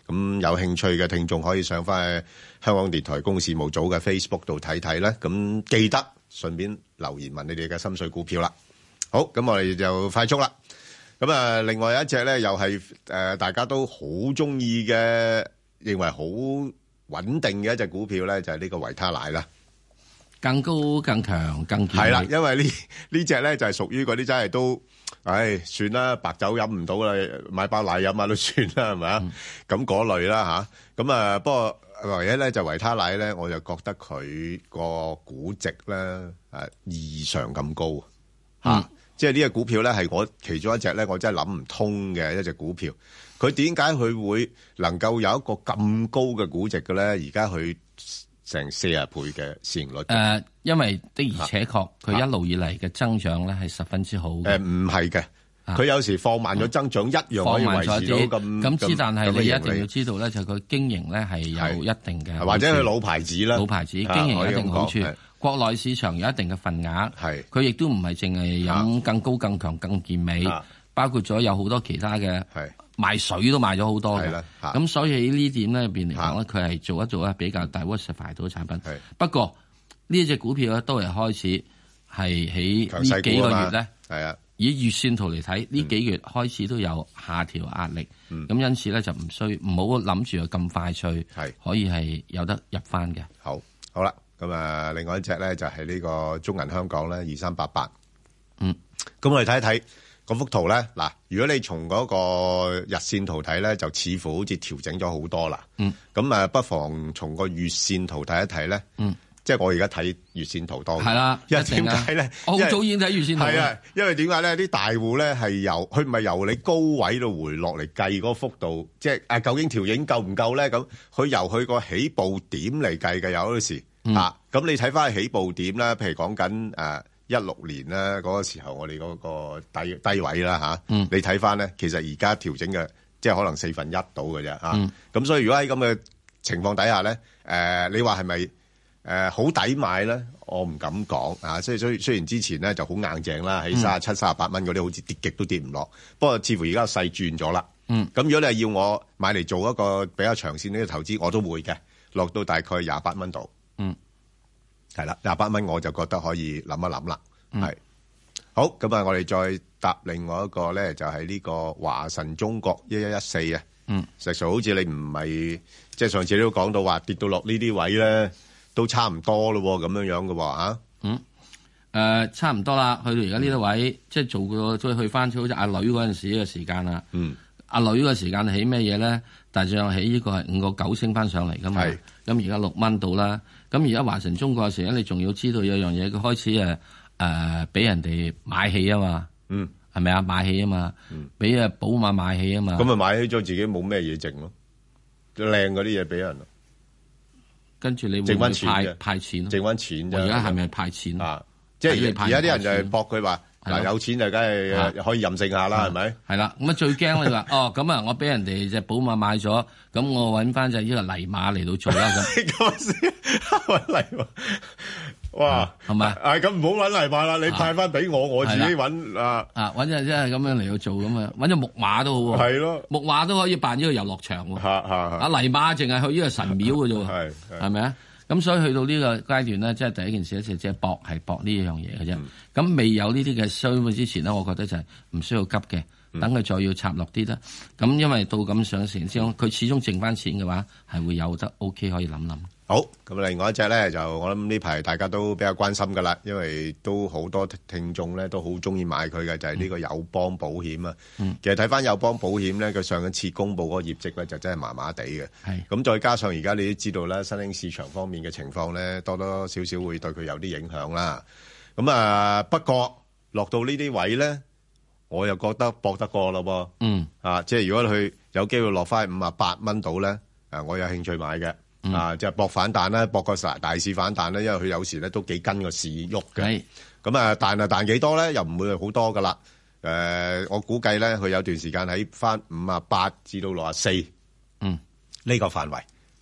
Speaker 2: 咁有興趣嘅聽眾可以上翻去香港電台公共事務組嘅 Facebook 度睇睇咧。咁記得順便留言問你哋嘅心水股票啦。好，咁我哋就快速啦。咁啊，另外一隻咧又係誒大家都好中意嘅，認為好穩定嘅一隻股票咧，就係呢個維他奶啦。
Speaker 1: 更高、更強、更健。
Speaker 2: 係啦，因為呢呢隻咧就係屬於嗰啲真係都，唉，算啦，白酒飲唔到啦，買包奶飲下都算啦，係咪啊？咁嗰類啦嚇。咁啊，不過唯一咧就維他奶咧，我就覺得佢個估值咧誒異常咁高嚇。即係呢隻股票咧係我其中一隻咧，我真係諗唔通嘅一隻股票。佢點解佢會能夠有一個咁高嘅估值嘅咧？而家佢成四十倍嘅市盈率。誒、
Speaker 1: 呃，因為的而且確佢一路以嚟嘅增長咧係十分之好嘅。誒
Speaker 2: 唔係嘅，佢、呃、有時放慢咗增長，啊、一樣可以維持到咁
Speaker 1: 咁之，但係你一定要知道咧，就佢、是、經營咧係有一定嘅，
Speaker 2: 或者佢老牌子啦，
Speaker 1: 老牌子經營有一定好處。國內市場有一定嘅份額，佢亦都唔係淨係飲更高、更強、更健美，包括咗有好多其他嘅賣水都賣咗好多嘅。咁所以喺呢點咧入邊嚟講咧，佢係做一做咧比較 diversify 到嘅產品。不過呢一隻股票咧都係開始係喺呢幾個月咧，
Speaker 2: 係啊，
Speaker 1: 以月線圖嚟睇，呢幾月開始都有下調壓力。咁、嗯、因此咧就唔需唔好諗住咁快脆，可以係有得入翻嘅。
Speaker 2: 好，好啦。咁啊，另外一隻咧就係呢個中銀香港咧，二三八八。
Speaker 1: 嗯，
Speaker 2: 咁我哋睇一睇嗰幅圖咧。嗱，如果你從嗰個日線圖睇咧，就似乎好似調整咗好多啦。
Speaker 1: 嗯，
Speaker 2: 咁啊，不妨從個月線圖睇一睇咧。
Speaker 1: 嗯，
Speaker 2: 即係我而家睇月線圖多。
Speaker 1: 係啦，
Speaker 2: 因為點解咧？
Speaker 1: 我好早已經睇月線圖。
Speaker 2: 係啊，因為點解咧？啲大戶咧係由佢唔係由你高位度回落嚟計嗰個幅度，即係啊，究竟調整夠唔夠咧？咁佢由佢個起步點嚟計嘅，有嗰時。嗯、啊，咁你睇翻起步點啦，譬如講緊誒一六年啦，嗰個時候我哋嗰個低低位啦吓、啊嗯，你睇翻咧，其實而家調整嘅即係可能四分一到嘅啫吓，咁、嗯、所以如果喺咁嘅情況底下咧，誒、呃、你話係咪誒好抵買咧？我唔敢講啊，所以所以雖然之前咧就好硬淨啦，喺三十七、三十八蚊嗰啲好似跌極都跌唔落，不過似乎而家勢轉咗啦。嗯，咁如果你係要我買嚟做一個比較長線呢個投資，我都會嘅，落到大概廿八蚊度。
Speaker 1: 嗯，
Speaker 2: 係啦，廿八蚊我就覺得可以諗一諗啦。係、嗯、好，咁啊，我哋再搭另外一個咧，就係、是、呢個華晨中國一一一四啊。
Speaker 1: 嗯，
Speaker 2: 實際好似你唔係即係上次都講到話跌到落呢啲位咧，都差唔多咯，咁樣樣嘅喎啊。
Speaker 1: 嗯，誒、呃，差唔多啦，去到而家呢啲位，嗯、即係做個再去翻，好似阿女嗰陣時嘅時間啦。
Speaker 2: 嗯，
Speaker 1: 阿女嘅時間起咩嘢咧？大致上起呢個係五個九升翻上嚟噶嘛。係。咁而家六蚊到啦。咁而家華晨中國嘅時候，你仲要知道有樣嘢，佢開始誒誒俾人哋買起啊嘛。
Speaker 2: 嗯。
Speaker 1: 係咪啊？買起啊嘛。嗯。俾誒寶馬買起啊嘛。
Speaker 2: 咁咪買起咗自己冇咩嘢剩咯，靚嗰啲嘢俾人。
Speaker 1: 跟住你會
Speaker 2: 剩翻
Speaker 1: 派
Speaker 2: 錢
Speaker 1: 派錢，
Speaker 2: 剩翻錢啫。
Speaker 1: 而家係咪派錢
Speaker 2: 啊？即係而家啲人就係搏佢話。嗱，有錢就梗係可以任性下啦，係咪？
Speaker 1: 係啦，咁啊最驚你話哦，咁啊我俾人哋隻寶馬買咗，咁我揾翻隻呢個泥馬嚟到做啦咁。
Speaker 2: 嗰時揾泥馬，哇，
Speaker 1: 係咪？
Speaker 2: 係咁唔好揾泥馬啦，你派翻俾我，我自己揾啊
Speaker 1: 啊，揾隻即係咁樣嚟到做咁啊，揾隻木馬都好喎。
Speaker 2: 係咯，
Speaker 1: 木馬都可以辦呢個遊樂場喎。
Speaker 2: 嚇嚇
Speaker 1: 啊泥馬淨係去呢個神廟嘅啫喎。
Speaker 2: 係
Speaker 1: 係咪啊？咁所以去到呢個階段咧，即係第一件事咧，就即係搏係搏呢樣嘢嘅啫。咁、嗯、未有呢啲嘅需要之前咧，我覺得就係唔需要急嘅，等佢再要插落啲啦。咁、嗯、因為到咁上成之後，佢始終剩翻錢嘅話，係會有得 OK 可以諗諗。
Speaker 2: 好，咁另外一隻咧就我諗呢排大家都比較關心噶啦，因為都好多聽眾咧都好中意買佢嘅，就係、是、呢個友邦保險啊、嗯。其實睇翻友邦保險咧，佢上一次公布嗰個業績咧就真係麻麻地嘅。係咁再加上而家你都知道啦，新興市場方面嘅情況咧，多多少少會對佢有啲影響啦。咁啊，不過落到呢啲位咧，我又覺得搏得過咯噃。
Speaker 1: 嗯
Speaker 2: 啊，即係如果佢有機會落翻五啊八蚊度咧，啊，我有興趣買嘅。嗯、啊，就係、是、搏反彈啦，搏個大市反彈啦，因為佢有時咧都幾跟個市喐嘅。咁啊，彈啊彈幾多咧？又唔會好多噶啦。誒、呃，我估計咧，佢有段時間喺翻五啊八至到六啊四，
Speaker 1: 嗯，
Speaker 2: 呢個範圍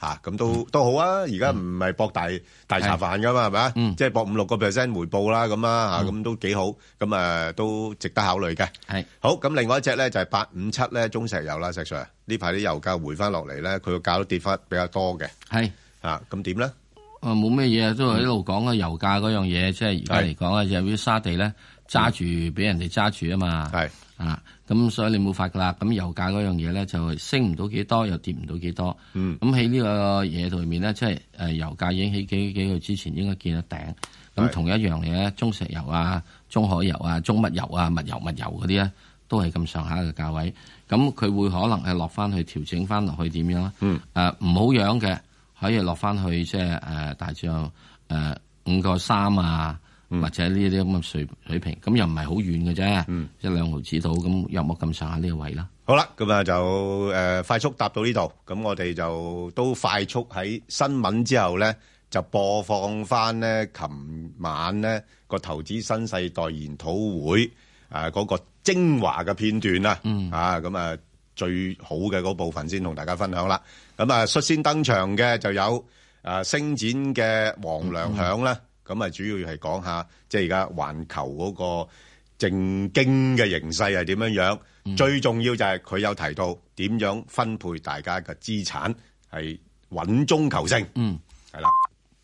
Speaker 2: 嚇，咁都都好啊！而家唔係博大大茶飯噶嘛，係咪啊？即係博五六個 percent 回報啦，咁啊嚇，咁都幾好，咁誒都值得考慮嘅。
Speaker 1: 係好，
Speaker 2: 咁另外一隻咧就係八五七咧，中石油啦，石 Sir 呢排啲油價回翻落嚟咧，佢個價都跌翻比較多嘅。
Speaker 1: 係
Speaker 2: 啊，咁點咧？
Speaker 1: 誒冇咩嘢，都係一路講嘅油價嗰樣嘢，即係而家嚟講啊，就係啲沙地咧揸住俾人哋揸住啊嘛。係啊，咁所以你冇法噶啦。咁油價嗰樣嘢咧就升唔到幾多，又跌唔到幾多。嗯。咁喺呢個嘢度面咧，即係誒油價已經喺幾幾個月之前應該見得頂。咁同一樣嘢咧，中石油啊、中海油啊、中乜油啊、物油物油嗰啲咧，都係咁上下嘅價位。咁佢會可能係落翻去調整翻落去點樣咧？嗯。誒唔好樣嘅。可以落翻去即係誒大致有誒五個三啊，嗯、或者呢啲咁嘅水水平，咁又唔係好遠嘅啫，嗯、一兩毫子到，咁有冇咁上下呢個位啦？
Speaker 2: 好啦，咁啊就誒、呃、快速答到呢度，咁我哋就都快速喺新聞之後咧，就播放翻咧，琴晚咧個投資新世代研討會誒嗰、呃那個精華嘅片段啦，嗯、啊咁啊最好嘅嗰部分先同大家分享啦。咁啊，率先登場嘅就有誒星展嘅黃良響啦。咁啊，主要係講下即係而家環球嗰個政經嘅形勢係點樣樣。嗯、最重要就係佢有提到點樣分配大家嘅資產，係穩中求勝。嗯，係啦。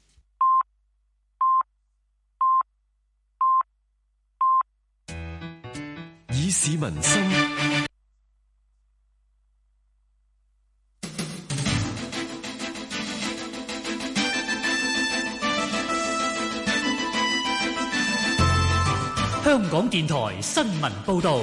Speaker 8: 以市民心
Speaker 4: 香港電台新聞報道。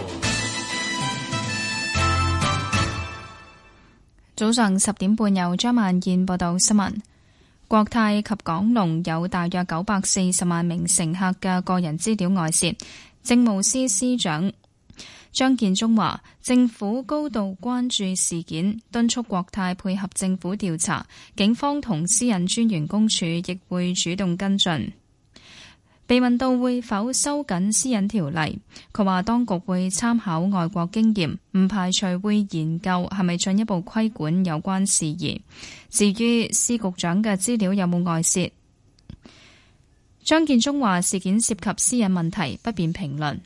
Speaker 5: 早上十點半，由張萬燕報道新聞。國泰及港龍有大約九百四十萬名乘客嘅個人資料外泄。政務司司長張建宗話，政府高度關注事件，敦促國泰配合政府調查，警方同私隱專員公署亦會主動跟進。被問到會否收緊私隱條例，佢話當局會參考外國經驗，唔排除會研究係咪進一步規管有關事宜。至於司局長嘅資料有冇外泄，張建宗話事件涉及私隱問題，不便評論。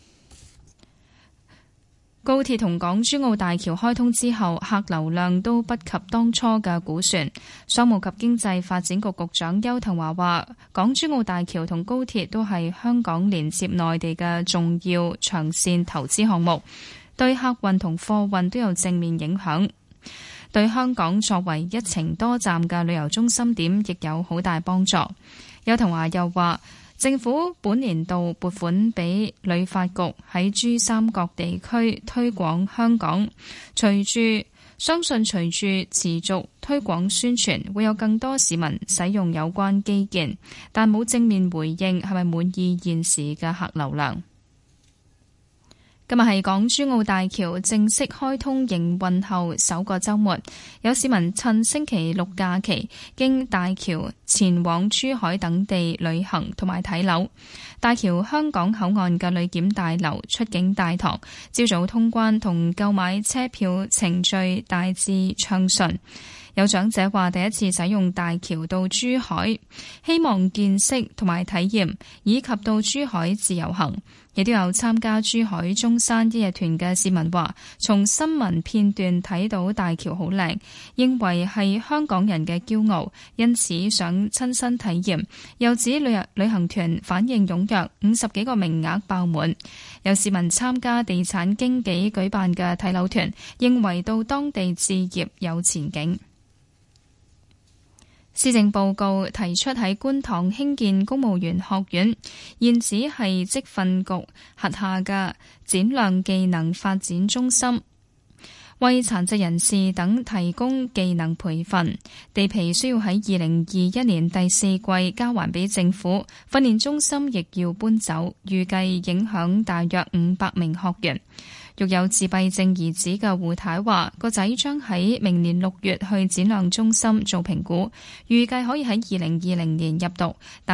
Speaker 5: 高鐵同港珠澳大橋開通之後，客流量都不及當初嘅估算。商務及經濟發展局局長邱騰華話，港珠澳大橋同高鐵都係香港連接內地嘅重要長線投資項目，對客運同貨運都有正面影響，對香港作為一程多站嘅旅遊中心點亦有好大幫助。邱騰華又話，政府本年度撥款俾旅發局喺珠三角地區推廣香港，隨住相信隨住持續推廣宣傳，會有更多市民使用有關基建，但冇正面回應係咪滿意現時嘅客流量。今日係港珠澳大橋正式開通營運後首個週末，有市民趁星期六假期經大橋前往珠海等地旅行同埋睇樓。大橋香港口岸嘅旅檢大樓出境大堂，朝早通關同購買車票程序大致暢順。有長者話第一次使用大橋到珠海，希望見識同埋體驗，以及到珠海自由行。亦都有參加珠海中山一日團嘅市民話，從新聞片段睇到大橋好靚，認為係香港人嘅驕傲，因此想親身體驗。又指旅遊旅行團反應踴躍，五十幾個名額爆滿。有市民參加地產經紀舉辦嘅睇樓團，認為到當地置業有前景。施政報告提出喺觀塘興建公務員學院，現址係職訓局轄下嘅展亮技能發展中心，為殘疾人士等提供技能培訓。地皮需要喺二零二一年第四季交還俾政府，訓練中心亦要搬走，預計影響大約五百名學員。育有自閉症兒子嘅胡太話，個仔將喺明年六月去展亮中心做評估，預計可以喺二零二零年入讀，但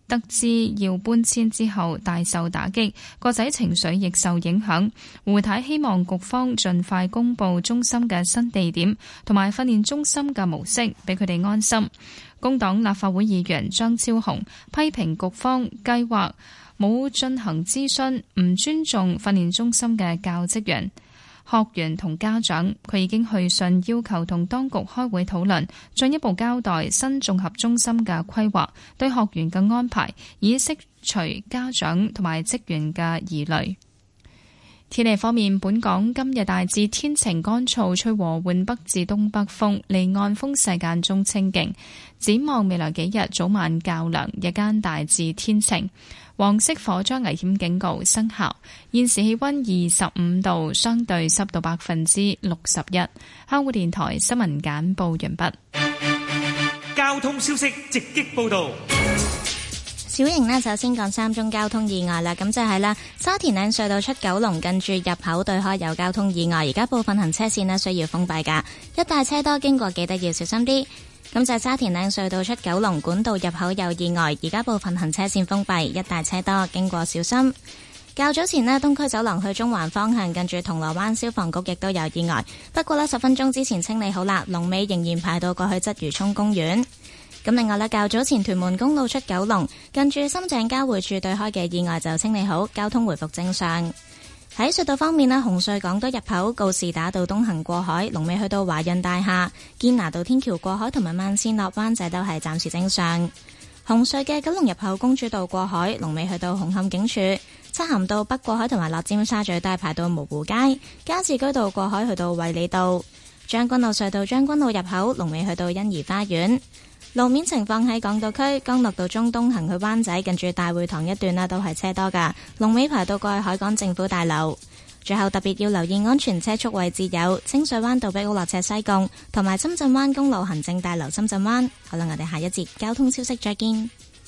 Speaker 5: 得知要搬遷之後大受打擊，個仔情緒亦受影響。胡太希望局方盡快公布中心嘅新地點同埋訓練中心嘅模式，俾佢哋安心。工黨立法會議員張超雄批評局方計劃冇進行諮詢，唔尊重訓練中心嘅教職員、學員同家長。佢已經去信要求同當局開會討論，進一步交代新綜合中心嘅規劃對學員嘅安排，以釋除家長同埋職員嘅疑慮。天氣方面，本港今日大致天晴乾燥，吹和緩北至東北風，離岸風勢間中清勁。展望未來幾日，早晚較涼，日間大致天晴。黃色火災危險警告生效。現時氣溫二十五度，相對濕度百分之六十一。香港電台新聞簡報完畢。
Speaker 4: 交通消息直擊報道。
Speaker 6: 小瑩呢，首先講三宗交通意外啦，咁就係啦，沙田嶺隧道出九龍近住入口對開有交通意外，而家部分行車線呢需要封閉噶，一帶車多，經過記得要小心啲。咁就係沙田嶺隧道出九龍管道入口有意外，而家部分行車線封閉，一帶車多，經過小心。較早前呢，東區走廊去中環方向近住銅鑼灣消防局亦都有意外，不過呢，十分鐘之前清理好啦，龍尾仍然排到過去鰂魚涌公園。咁另外咧，較早前屯門公路出九龍近住深井交匯處對開嘅意外就清理好，交通回復正常。喺隧道方面咧，紅隧港島入口告士打道東行過海，龍尾去到華潤大廈；堅拿道天橋過海同埋慢線落灣仔都係暫時正常。紅隧嘅九龍入口公主道過海，龍尾去到紅磡警署；漆咸道北過海同埋落尖沙咀都係排到蕪湖街；加士居道過海去到衛理道；將軍澳隧道將軍澳入口，龍尾去到欣怡花園。路面情況喺港島區，干諾道中東行去灣仔近住大會堂一段啦，都係車多噶，龍尾排到過去海港政府大樓。最後特別要留意安全車速位置有清水灣道碧屋落斜西貢，同埋深圳灣公路行政大樓深圳灣。好啦，我哋下一節交通消息再見。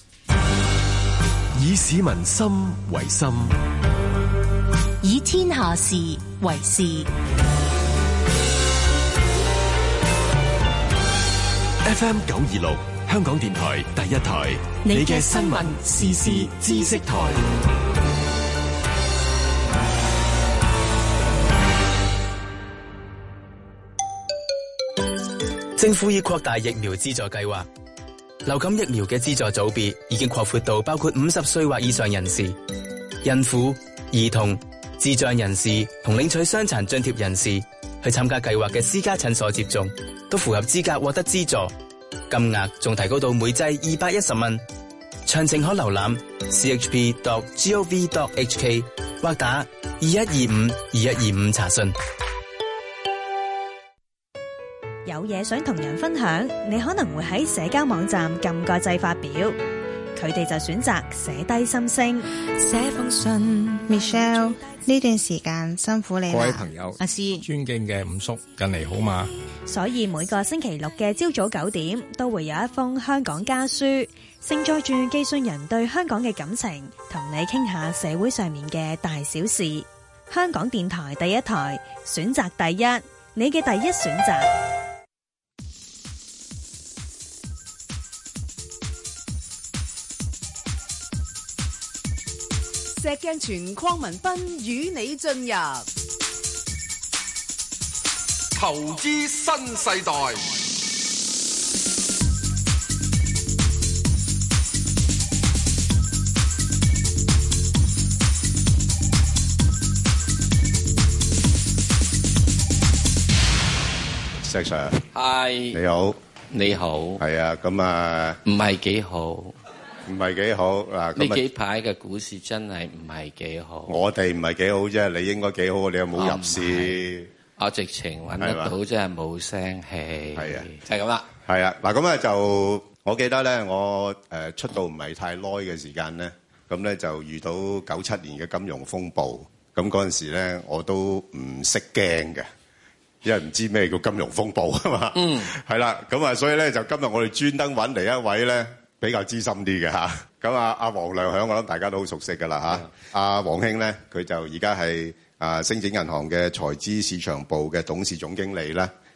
Speaker 8: 以市民心為心，
Speaker 7: 以天下事為事。
Speaker 8: F M 九二六香港電台第一台，你嘅新聞時事知識台。
Speaker 11: 政府已擴大疫苗資助計劃，流感疫苗嘅資助組別已經擴闊到包括五十歲或以上人士、孕婦、兒童、智障人士同領取傷殘津貼人士去參加計劃嘅私家診所接種，都符合資格獲得資助，金額仲提高到每劑二百一十蚊。詳情可瀏覽 c h p dot gov dot h k 或打二一二五二一二五查詢。
Speaker 12: 有嘢想同人分享，你可能會喺社交網站撳個掣發表，佢哋就選擇寫低心聲。寫封信
Speaker 13: Michelle， 呢段時間辛苦你啦。
Speaker 16: 各位朋友，阿師，尊敬嘅五叔，近嚟好嘛？
Speaker 12: 所以每個星期六嘅朝早九點，都會有一封香港家書，盛載住寄信人對香港嘅感情，同你傾下社會上面嘅大小事。香港電台第一台，選擇第一，你嘅第一選擇。
Speaker 14: 石鏡泉鄺民彬與你進入
Speaker 15: 投資新世代。
Speaker 2: 石 Sir，
Speaker 1: 係
Speaker 2: 你好，
Speaker 1: 你好，
Speaker 2: 係啊，咁啊，
Speaker 1: 唔係幾好。
Speaker 2: 唔係幾好嗱，
Speaker 1: 呢幾排嘅股市真係唔係幾好。
Speaker 2: 我哋唔係幾好啫，你應該幾好，你有冇入市？
Speaker 1: 我直情揾得到，真係冇聲氣。
Speaker 2: 係啊，
Speaker 1: 就係咁啦。
Speaker 2: 係啊，嗱咁啊就，我記得咧，我誒出道唔係太耐嘅時間咧，咁咧就遇到九七年嘅金融風暴，咁嗰陣時咧我都唔識驚嘅，因為唔知咩叫金融風暴啊嘛。嗯。係啦，咁啊，所以咧就今日我哋專登揾嚟一位咧，比較資深啲嘅嚇，咁啊阿黃亮響，我諗大家都好熟悉㗎啦嚇。阿黃兄咧，佢就而家係啊星展銀行嘅財資市場部嘅董事總經理啦。咁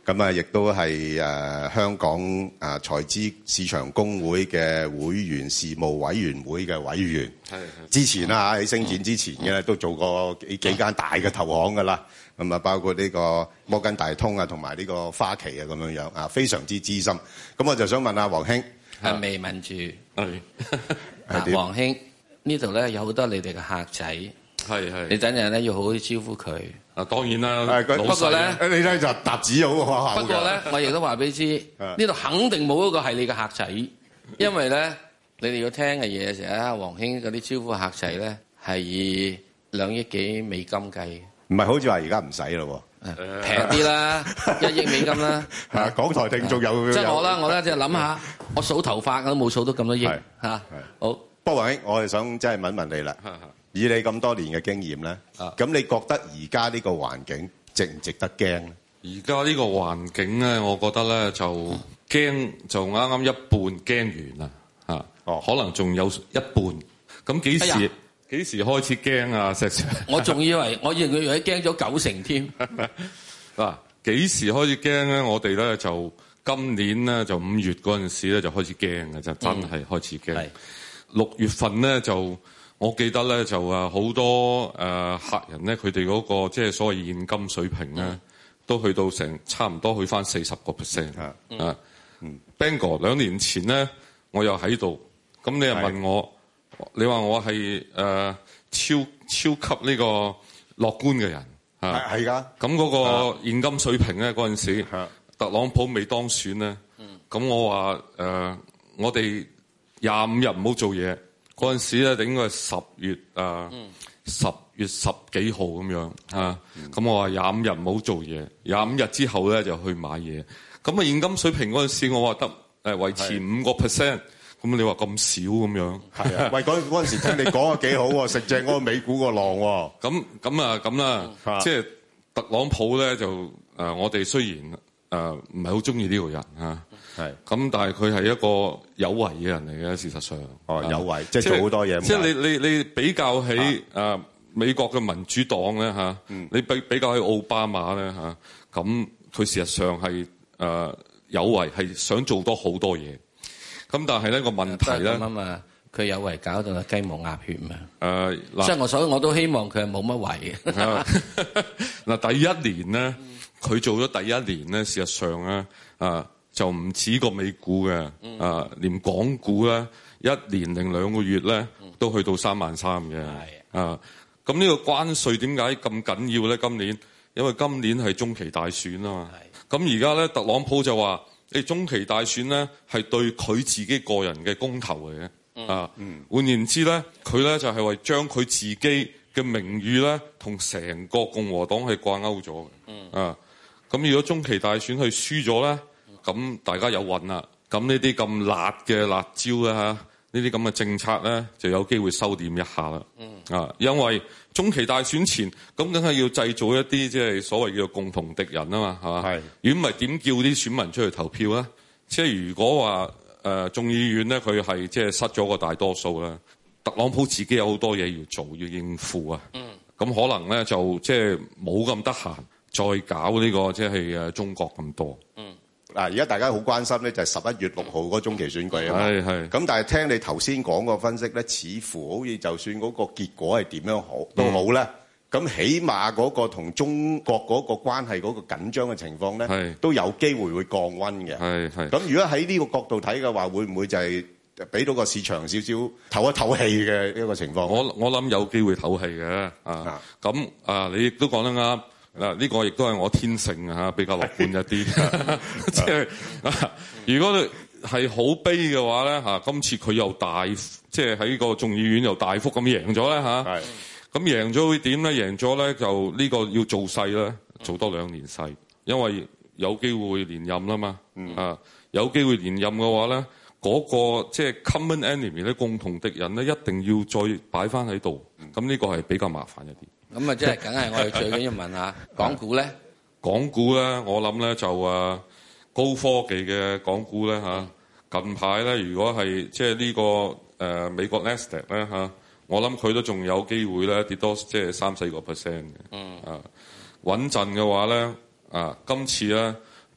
Speaker 2: 咁啊，亦都係誒香港誒財資市場公會嘅會員事務委員會嘅委員。係之前啦喺星展之前嘅咧，都做過幾幾間大嘅投行㗎啦。咁啊，包括呢個摩根大通啊，同埋呢個花旗啊，咁樣樣啊，非常之資深。咁我就想問下黃兄，
Speaker 1: 係未問住？係嗱，黃兄呢度咧有好多你哋嘅客仔，係係，你等陣咧要好好招呼佢。啊，當然啦，不過咧，
Speaker 2: 你咧就搭子好可口。
Speaker 1: 不過咧，我亦都話俾你知，呢度肯定冇一個係你嘅客仔，因為咧，你哋要聽嘅嘢成日啊，黃兄嗰啲招呼客仔咧係以兩億幾美金計，
Speaker 2: 唔係好似話而家唔使咯喎，
Speaker 1: 平啲啦，一億美金啦。
Speaker 2: 啊，港台聽眾有
Speaker 1: 即係我啦，我咧即係諗下，我數頭髮我都冇數到咁多億嚇。好，
Speaker 2: 不過黃兄，我係想即係問問你啦。以你咁多年嘅經驗咧，咁你覺得而家呢個環境值唔值得驚咧？
Speaker 17: 而家呢個環境咧，我覺得咧就驚就啱啱一半驚完啦嚇，哦，可能仲有一半。咁幾時幾、哎、時開始驚啊？石 Sir，我仲以為我以為佢驚咗九成添。嗱，幾時開始驚咧？我哋咧就今年咧就五月嗰陣時咧就開始驚嘅，就真係開始驚。六、嗯、月份咧就。我記得咧就啊好多誒、呃、客人咧，佢哋嗰個即係所謂現金水平咧，嗯、都去到成差唔多去翻四十個 percent 啊。啊、嗯、，Bang 哥兩年前咧，我又喺度，咁你又問我，你話我係誒、呃、超超級呢個樂觀嘅人啊？係㗎。咁嗰個現金水平咧，嗰陣時特朗普未當選咧，咁、嗯、我話誒、呃、我哋廿五日唔好做嘢。嗰陣時咧，應該係十月啊，十、嗯、月十幾號咁樣啊。咁、嗯、我話廿五日唔好做嘢，廿五日之後咧就去買嘢。咁啊現金水平嗰陣時，我話得誒維持五個 percent。咁你話咁少咁樣？係啊，喂，嗰嗰陣時聽你講啊幾好喎，食正嗰個美股個浪喎。咁咁啊咁啦，即係特朗普咧就誒、呃，我哋雖然誒唔係好中意呢個人啊。係，咁但係佢係一個有為嘅人嚟嘅，事實上。哦，有為，即係做好多嘢。即係你你你比較起誒、啊啊、美國嘅民主黨咧嚇，嗯、你比比較起奧巴馬咧嚇，咁、啊、佢事實上係誒、呃、有為，係想做多好多嘢。咁但係呢個問題咧，咁啊嘛，佢有為搞到雞毛鴨血嘛。誒、呃，即係我所以我都希望佢係冇乜為嘅。嗱，第一年咧，佢、嗯、做咗第一年咧，事實上咧啊。就唔止個美股嘅、嗯，啊，連港股咧，一年零兩個月咧，都去到三萬三嘅，啊，咁呢個關稅點解咁緊要咧？今年，因為今年係中期大選啊嘛，咁而家咧，特朗普就話，你中期大選咧係對佢自己個人嘅公投嚟嘅、嗯，啊，嗯、換言之咧，佢咧就係為將佢自己嘅名譽咧，同成個共和黨係掛鈎咗嘅，啊，咁如果中期大選佢輸咗咧？咁大家有運啦，咁呢啲咁辣嘅辣椒咧嚇，呢啲咁嘅政策咧就有機會收斂一下啦。嗯啊，因為中期大選前，咁梗係要製造一啲即係所謂叫共同敵人啊嘛，係嘛？係。如果唔係點叫啲選民出去投票咧？即係如果話誒、呃、眾議院咧，佢係即係失咗個大多數啦，特朗普自己有好多嘢要做，要應付啊。嗯。咁可能咧就即係冇咁得閒再搞呢、呢個即係誒中國咁多。嗯。嗱，而家大家好關心咧，就係十一月六號嗰中期選舉啊嘛。係係。咁但係聽你頭先講個分析咧，似乎好似就算嗰個結果係點樣好都好咧，咁、嗯、起碼嗰個同中國嗰個關係嗰個緊張嘅情況咧，都有機會會降溫嘅。係係。咁如果喺呢個角度睇嘅話，會唔會就係俾到個市場少少唞一唞氣嘅一個情況？我我諗有機會唞氣嘅啊。咁啊，你亦都講得啱。嗱，呢個亦都係我天性啊，比較樂觀一啲。即係如果你係好悲嘅話咧嚇，今次佢又大，即係喺個眾議院又大幅咁贏咗咧嚇。係。咁贏咗會點咧？贏咗咧就呢個要做勢咧，做多兩年勢，因為有機會連任啦嘛。嗯。啊，有機會連任嘅話咧，嗰個即係 common enemy 咧，共同敵人咧，一定要再擺翻喺度。咁呢個係比較麻煩一啲。咁啊，即係梗係我哋最緊要問下港股咧。港股咧，我諗咧就誒高科技嘅港股咧嚇。近排咧，如果係即係呢個誒、呃、美國 Nasdaq 咧嚇，我諗佢都仲有機會咧跌多即係三四個 percent 嘅。嗯。啊，穩陣嘅話咧，啊今次咧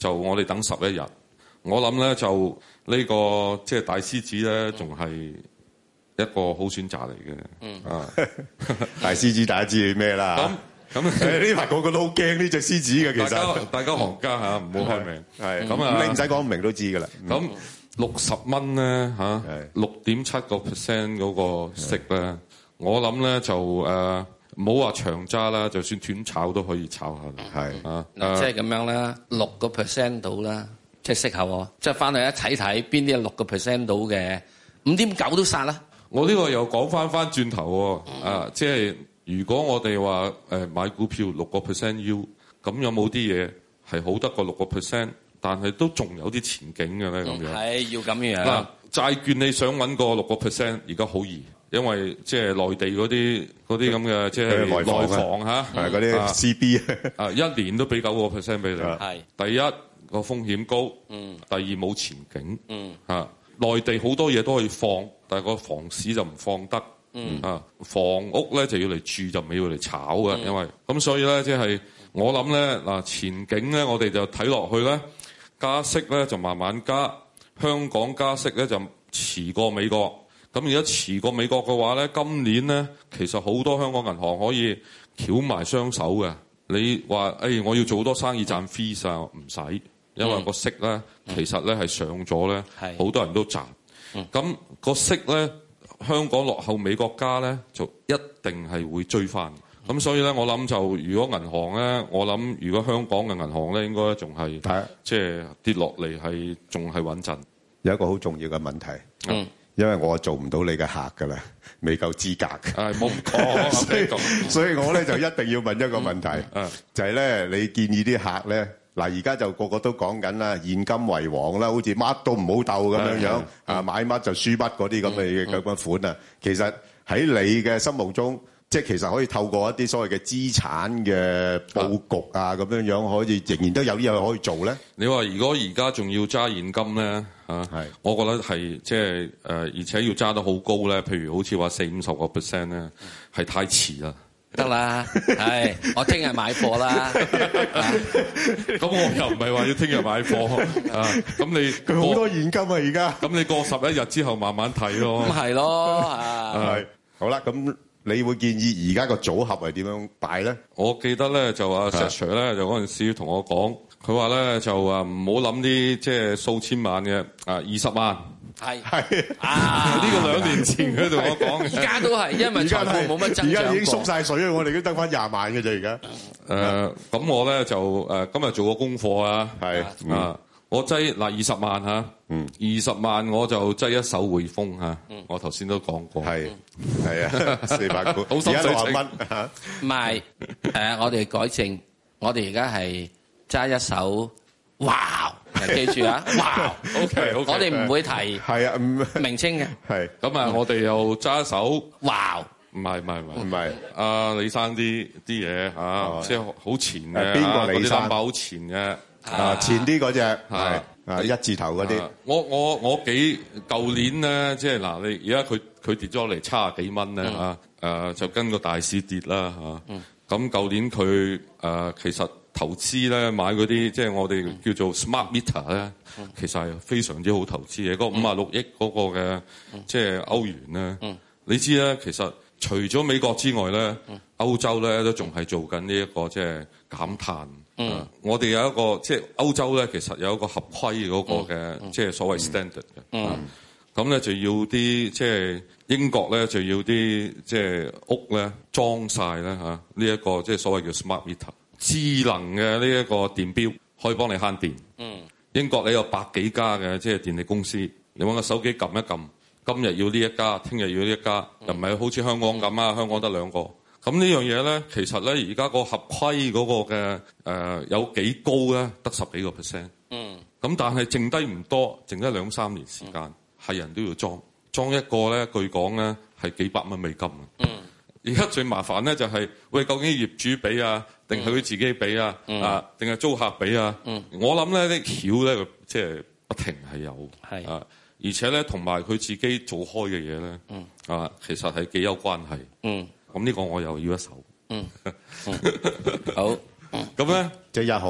Speaker 17: 就我哋等十一日。我諗咧就呢、這個即係、就是、大獅子咧，仲係一個好選擇嚟嘅。嗯啊，
Speaker 2: 大獅子大家知係咩啦？咁咁呢排個個都好驚呢隻獅子嘅，其實大家
Speaker 17: 大家行家嚇唔好開名。係咁啊，
Speaker 2: 你唔使講唔明都知㗎啦。
Speaker 17: 咁六十蚊咧嚇，六點七個 percent 嗰個息咧，我諗咧就誒唔好話長揸啦，就算短炒都可以炒下。係啊，
Speaker 1: 嗱即係咁樣啦，六個 percent 到啦。即係適合喎，即係翻去一睇睇邊啲係六個 percent 到嘅，五點九都殺啦。
Speaker 17: 我呢個又講翻翻轉頭喎，嗯、啊，即係如果我哋話誒買股票六個 percent yield，咁有冇啲嘢係好得過六個 percent，但係都仲有啲前景嘅咧咁樣？
Speaker 1: 係要咁樣。
Speaker 17: 嗱，債券你想揾個六個 percent，而家好易，因為即係內地嗰啲嗰啲咁嘅即係內房嚇，
Speaker 2: 係嗰啲 C B
Speaker 17: 啊，一年都俾九個 percent 俾你。係第一。個風險高，嗯、第二冇前景，嗯啊、內地好多嘢都可以放，但係個房市就唔放得，嗯啊、房屋咧就要嚟住就唔係要嚟炒嘅，嗯、因為咁所以咧即係我諗咧嗱前景咧我哋就睇落去咧加息咧就慢慢加，香港加息咧就遲過美國，咁而家遲過美國嘅話咧，今年咧其實好多香港銀行可以翹埋雙手嘅，你話誒、哎、我要做好多生意賺 fees 啊，唔使。因為個息咧，嗯、其實咧係上咗咧，好多人都賺。咁、嗯、個息咧，香港落後美國加咧，就一定係會追翻。咁、嗯、所以咧，我諗就如果銀行咧，我諗如果香港嘅銀行咧，應該仲係即係跌落嚟係仲係穩陣。
Speaker 2: 有一個好重要嘅問題，
Speaker 1: 嗯、
Speaker 2: 因為我做唔到你嘅客㗎啦，未夠資格。
Speaker 17: 係冇講，
Speaker 2: 所以所以我咧就一定要問一個問題，嗯、就係咧你建議啲客咧。嗱，而家就個個都講緊啦，現金為王啦，好似乜都唔好鬥咁樣樣，啊買乜就輸乜嗰啲咁嘅咁嘅款啊。其實喺你嘅心目中，即係其實可以透過一啲所謂嘅資產嘅佈局啊，咁樣樣可以仍然都有啲嘢可以做咧。
Speaker 17: 你話如果而家仲要揸現金咧，嚇，係，我覺得係即係誒，而且要揸得好高咧，譬如好似話四五十個 percent 咧，係太遲啦。
Speaker 1: 得啦，係我聽日買貨啦。
Speaker 17: 咁我又唔係話要聽日買貨啊。咁你
Speaker 2: 佢好多現金啊，而家。
Speaker 17: 咁你過十一日之後慢慢睇咯。
Speaker 1: 咁係咯，係。
Speaker 2: 好啦，咁你會建議而家個組合係點樣擺咧？
Speaker 17: 我記得咧就阿石 Sir 咧就嗰陣時同我講，佢話咧就話唔好諗啲即係數千萬嘅啊，二十萬。
Speaker 1: 係
Speaker 2: 係
Speaker 17: 啊！呢個兩年前佢同我講嘅，
Speaker 1: 而家都係，因為財富冇乜增長過。
Speaker 2: 而家已經縮晒水，我哋都得翻廿萬嘅啫。而家
Speaker 17: 誒，咁我咧就誒今日做個功課啊，係啊，我擠嗱二十萬嚇，嗯，二十萬我就擠一手匯豐嚇，我頭先都講過，係
Speaker 2: 係啊，四百股，而家六十蚊嚇，
Speaker 1: 唔係誒，我哋改正，我哋而家係揸一手，哇！記住啊！哇
Speaker 17: ，OK，
Speaker 1: 我哋唔會提
Speaker 2: 係啊，
Speaker 1: 名稱嘅
Speaker 17: 係咁啊，我哋又揸手，
Speaker 1: 哇！
Speaker 17: 唔係唔係唔係
Speaker 2: 唔係，
Speaker 17: 阿李生啲啲嘢嚇，即係好前嘅，
Speaker 2: 邊個李生？
Speaker 17: 嗰啲 number 好前嘅，
Speaker 2: 啊前啲嗰隻係啊一字頭嗰啲。
Speaker 17: 我我我幾舊年咧，即係嗱，你而家佢佢跌咗嚟七十幾蚊咧嚇，誒就跟個大市跌啦嚇。咁舊年佢誒其實。投資咧買嗰啲即係我哋叫做 smart meter 咧，嗯、其實係非常之好投資嘅。嗰五啊六億嗰個嘅即係歐元咧，嗯、你知咧其實除咗美國之外咧，嗯、歐洲咧都仲係做緊呢一個即係減碳。嗯啊、我哋有一個即係歐洲咧，其實有一個合規嗰個嘅即係所謂 standard 嘅。咁咧就要啲即係英國咧就要啲即係屋咧裝晒咧嚇呢一個即係所謂叫 smart meter。智能嘅呢一個電錶可以幫你慳電。嗯，英國你有百幾家嘅即係電力公司，你揾個手機撳一撳，今日要呢一家，聽日要呢一家，又唔係好似香港咁啊，香港得兩個。咁呢樣嘢咧，其實咧而家個合規嗰個嘅誒、呃、有幾高咧？得十幾個 percent。嗯。咁但係剩低唔多，剩低兩三年時間，係、嗯、人都要裝，裝一個咧，據講咧係幾百蚊美金。嗯。而家最麻煩咧就係、是，喂，究竟業主俾啊，定係佢自己俾啊？嗯、啊，定係租客俾啊？嗯、我諗咧啲橋咧，即係不停係有，係啊，而且咧同埋佢自己做開嘅嘢咧，嗯、啊，其實係幾有關係。嗯，咁呢個我又要一手。嗯，嗯好。咁咧，
Speaker 2: 即係一號啊。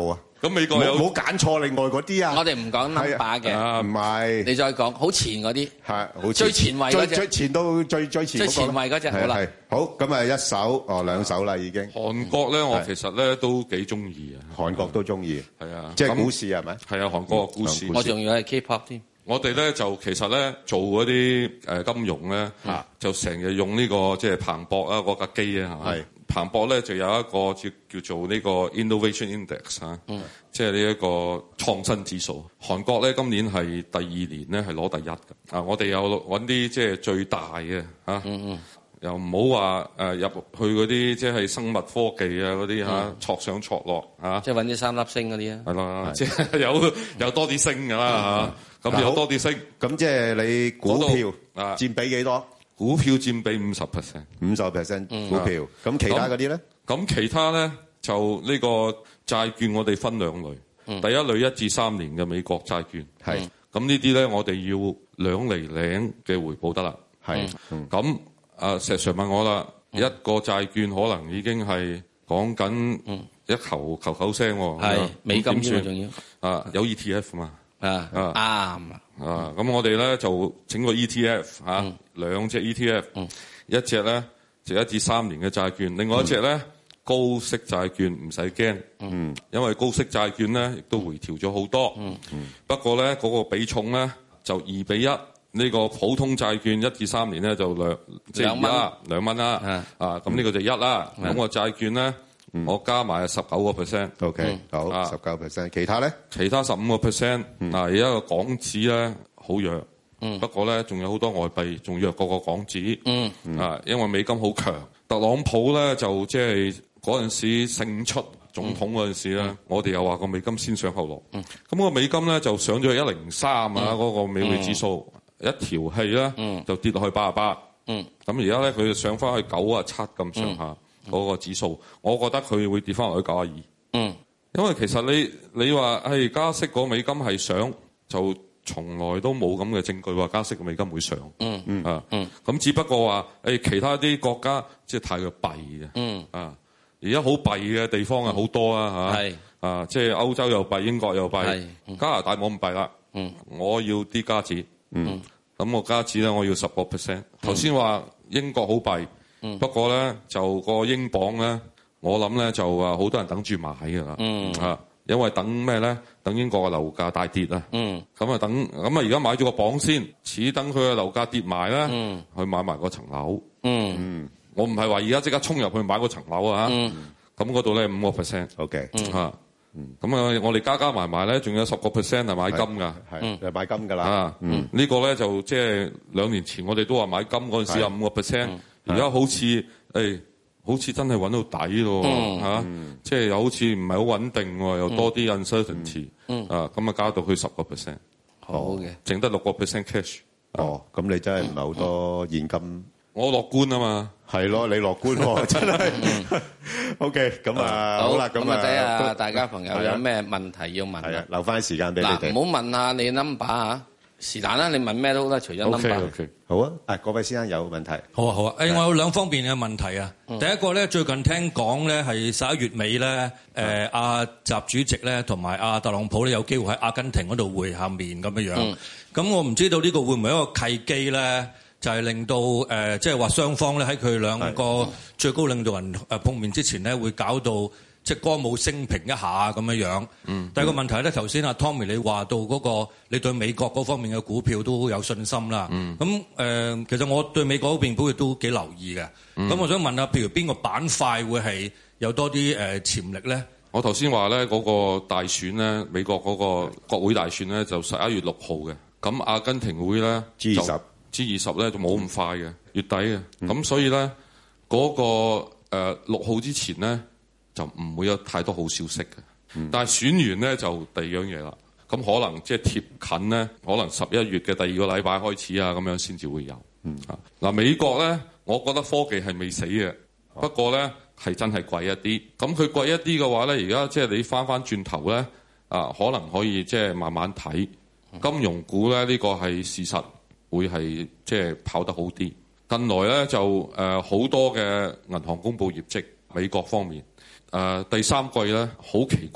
Speaker 17: 咁美國有
Speaker 2: 冇揀錯另外嗰啲啊？
Speaker 1: 我哋唔講 number 嘅，
Speaker 2: 唔係。
Speaker 1: 你再講好前嗰啲，
Speaker 2: 係好
Speaker 1: 最前衞嗰隻，
Speaker 2: 最前到最最前
Speaker 1: 最前衞嗰隻，好啦。
Speaker 2: 好，咁啊一手哦兩手啦已經。
Speaker 17: 韓國咧，我其實咧都幾中意啊。
Speaker 2: 韓國都中意，
Speaker 17: 係啊，
Speaker 2: 即係股市係咪？
Speaker 17: 係啊，韓國嘅股市。
Speaker 1: 我仲要係 K-pop 添。
Speaker 17: 我哋咧就其實咧做嗰啲誒金融咧，就成日用呢個即係彭博啊嗰架機啊，係彭博咧就有一個叫叫做呢個 Innovation Index 啊，即係呢一個創新指數。韓國咧今年係第二年咧係攞第一嘅。啊，我哋有揾啲即係最大嘅嚇。嗯嗯又唔好話誒入去嗰啲即係生物科技啊嗰啲嚇，挫上挫落嚇。即係
Speaker 1: 揾啲三粒星嗰啲啊。係
Speaker 17: 啦，即係有有多啲升㗎啦嚇。咁有多啲升，
Speaker 2: 咁即係你股票啊佔比幾多？
Speaker 17: 股票佔比五十 percent，
Speaker 2: 五十 percent 股票。咁其他嗰啲咧？
Speaker 17: 咁其他咧就呢個債券，我哋分兩類。第一類一至三年嘅美國債券，係咁呢啲咧，我哋要兩厘零嘅回報得啦。係咁。啊！石 Sir 問我啦，嗯、一個債券可能已經係講緊一球球球聲喎，
Speaker 1: 係美金添仲要
Speaker 17: 啊，有 E T F 嘛
Speaker 1: 啊啱啊！
Speaker 17: 咁、嗯、我哋咧就整個 E T F 嚇、嗯，兩隻 E T F，、嗯、一隻咧就一至三年嘅債券，另外一隻咧、嗯、高息債券唔使驚，嗯，因為高息債券咧亦都回調咗好多，嗯嗯，不過咧嗰、那個比重咧就二比一。呢個普通債券一至三年咧就兩即係啦，兩蚊啦，啊咁呢個就一啦。咁個債券咧，我加埋十九個 percent，OK，
Speaker 2: 好，十九 percent。其他咧？
Speaker 17: 其他十五個 percent。嗱，而家個港紙咧好弱，不過咧仲有好多外幣仲弱過個港紙，啊，因為美金好強。特朗普咧就即係嗰陣時勝出總統嗰陣時咧，我哋又話個美金先上後落。咁個美金咧就上咗去一零三啊，嗰個美匯指數。一條氣咧、嗯、就跌落去八十八，咁而家咧佢就上翻去九啊七咁上下嗰個指數，我覺得佢會跌翻落去九啊二，因為其實你你話係加息個美金係上，就從來都冇咁嘅證據話加息個美金會上，嗯嗯啊，咁、嗯、只不過話誒其他啲國家即係太過弊嘅，嗯啊，而家好弊嘅地方係好多啊嚇，啊即係歐洲又弊，英國又弊，加拿大冇咁弊啦，嗯，我要啲加紙。嗯，咁我加紙咧，我要十個 percent。頭先話英國好弊，嗯、不過咧就個英鎊咧，我諗咧就啊好多人等住買㗎啦，嗯啊，因為等咩咧？等英國嘅樓價大跌啊，嗯，咁啊等，咁啊而家買咗個鎊先，似等佢嘅樓價跌埋咧，嗯，去買埋嗰層樓，嗯嗯，我唔係話而家即刻衝入去買嗰層樓啊，嗯，咁嗰度咧五個 percent，OK， 啊。嗯，咁啊，我哋加加埋埋咧，仲有十個 percent 係買金噶，
Speaker 2: 係，係買金噶啦。
Speaker 17: 啊，嗯，呢個咧就即係兩年前我哋都話買金嗰陣時有五個 percent，而家好似誒，好似真係揾到底咯，嚇，即係又好似唔係好穩定喎，又多啲 uncertainty，啊，咁啊加到去十個 percent，
Speaker 1: 好嘅，
Speaker 17: 剩得六個 percent cash。
Speaker 2: 哦，咁你真係唔係好多現金。
Speaker 17: 我樂觀啊嘛，
Speaker 2: 係咯，你樂觀喎，真係。O K， 咁啊，好啦，咁啊，
Speaker 1: 睇下大家朋友有咩問題要問啊，
Speaker 2: 留翻時間俾你哋。
Speaker 1: 嗱，唔好問下你 number 嚇，是但啦，你問咩都得，除咗 number。
Speaker 2: O K，好啊，啊，各位先生有問題。
Speaker 16: 好啊，好啊，誒，我有兩方面嘅問題啊。第一個咧，最近聽講咧係十一月尾咧，誒，阿習主席咧同埋阿特朗普咧有機會喺阿根廷嗰度會下面咁樣樣。咁我唔知道呢個會唔會一個契機咧？就係令到誒，即係話雙方咧喺佢兩個最高領導人誒碰面之前咧，會搞到即係歌舞升平一下咁樣樣。嗯。第二個問題咧，頭先阿 Tommy 你話到嗰個你對美國嗰方面嘅股票都有信心啦。嗯。咁誒、呃，其實我對美國嗰邊股票都幾留意嘅。嗯。咁我想問下，譬如邊個板塊會係有多啲誒潛力咧？
Speaker 17: 我頭先話咧嗰個大選咧，美國嗰個國會大選咧就十一月六號嘅。咁阿根廷會咧
Speaker 2: G 二十。
Speaker 17: G 二十咧就冇咁快嘅，月底嘅，咁、嗯、所以咧嗰、那個誒六號之前咧就唔會有太多好消息嘅。嗯、但係選完咧就第二樣嘢啦，咁可能即係貼近咧，可能十一月嘅第二個禮拜開始啊，咁樣先至會有。嗯、啊嗱，美國咧，我覺得科技係未死嘅，啊、不過咧係真係貴一啲。咁佢貴一啲嘅話咧，而家即係你翻翻轉頭咧啊，可能可以即係慢慢睇金融股咧，呢、這個係事實。會係即係跑得好啲。近來咧就誒好、呃、多嘅銀行公布業績，美國方面誒、呃、第三季咧好奇怪，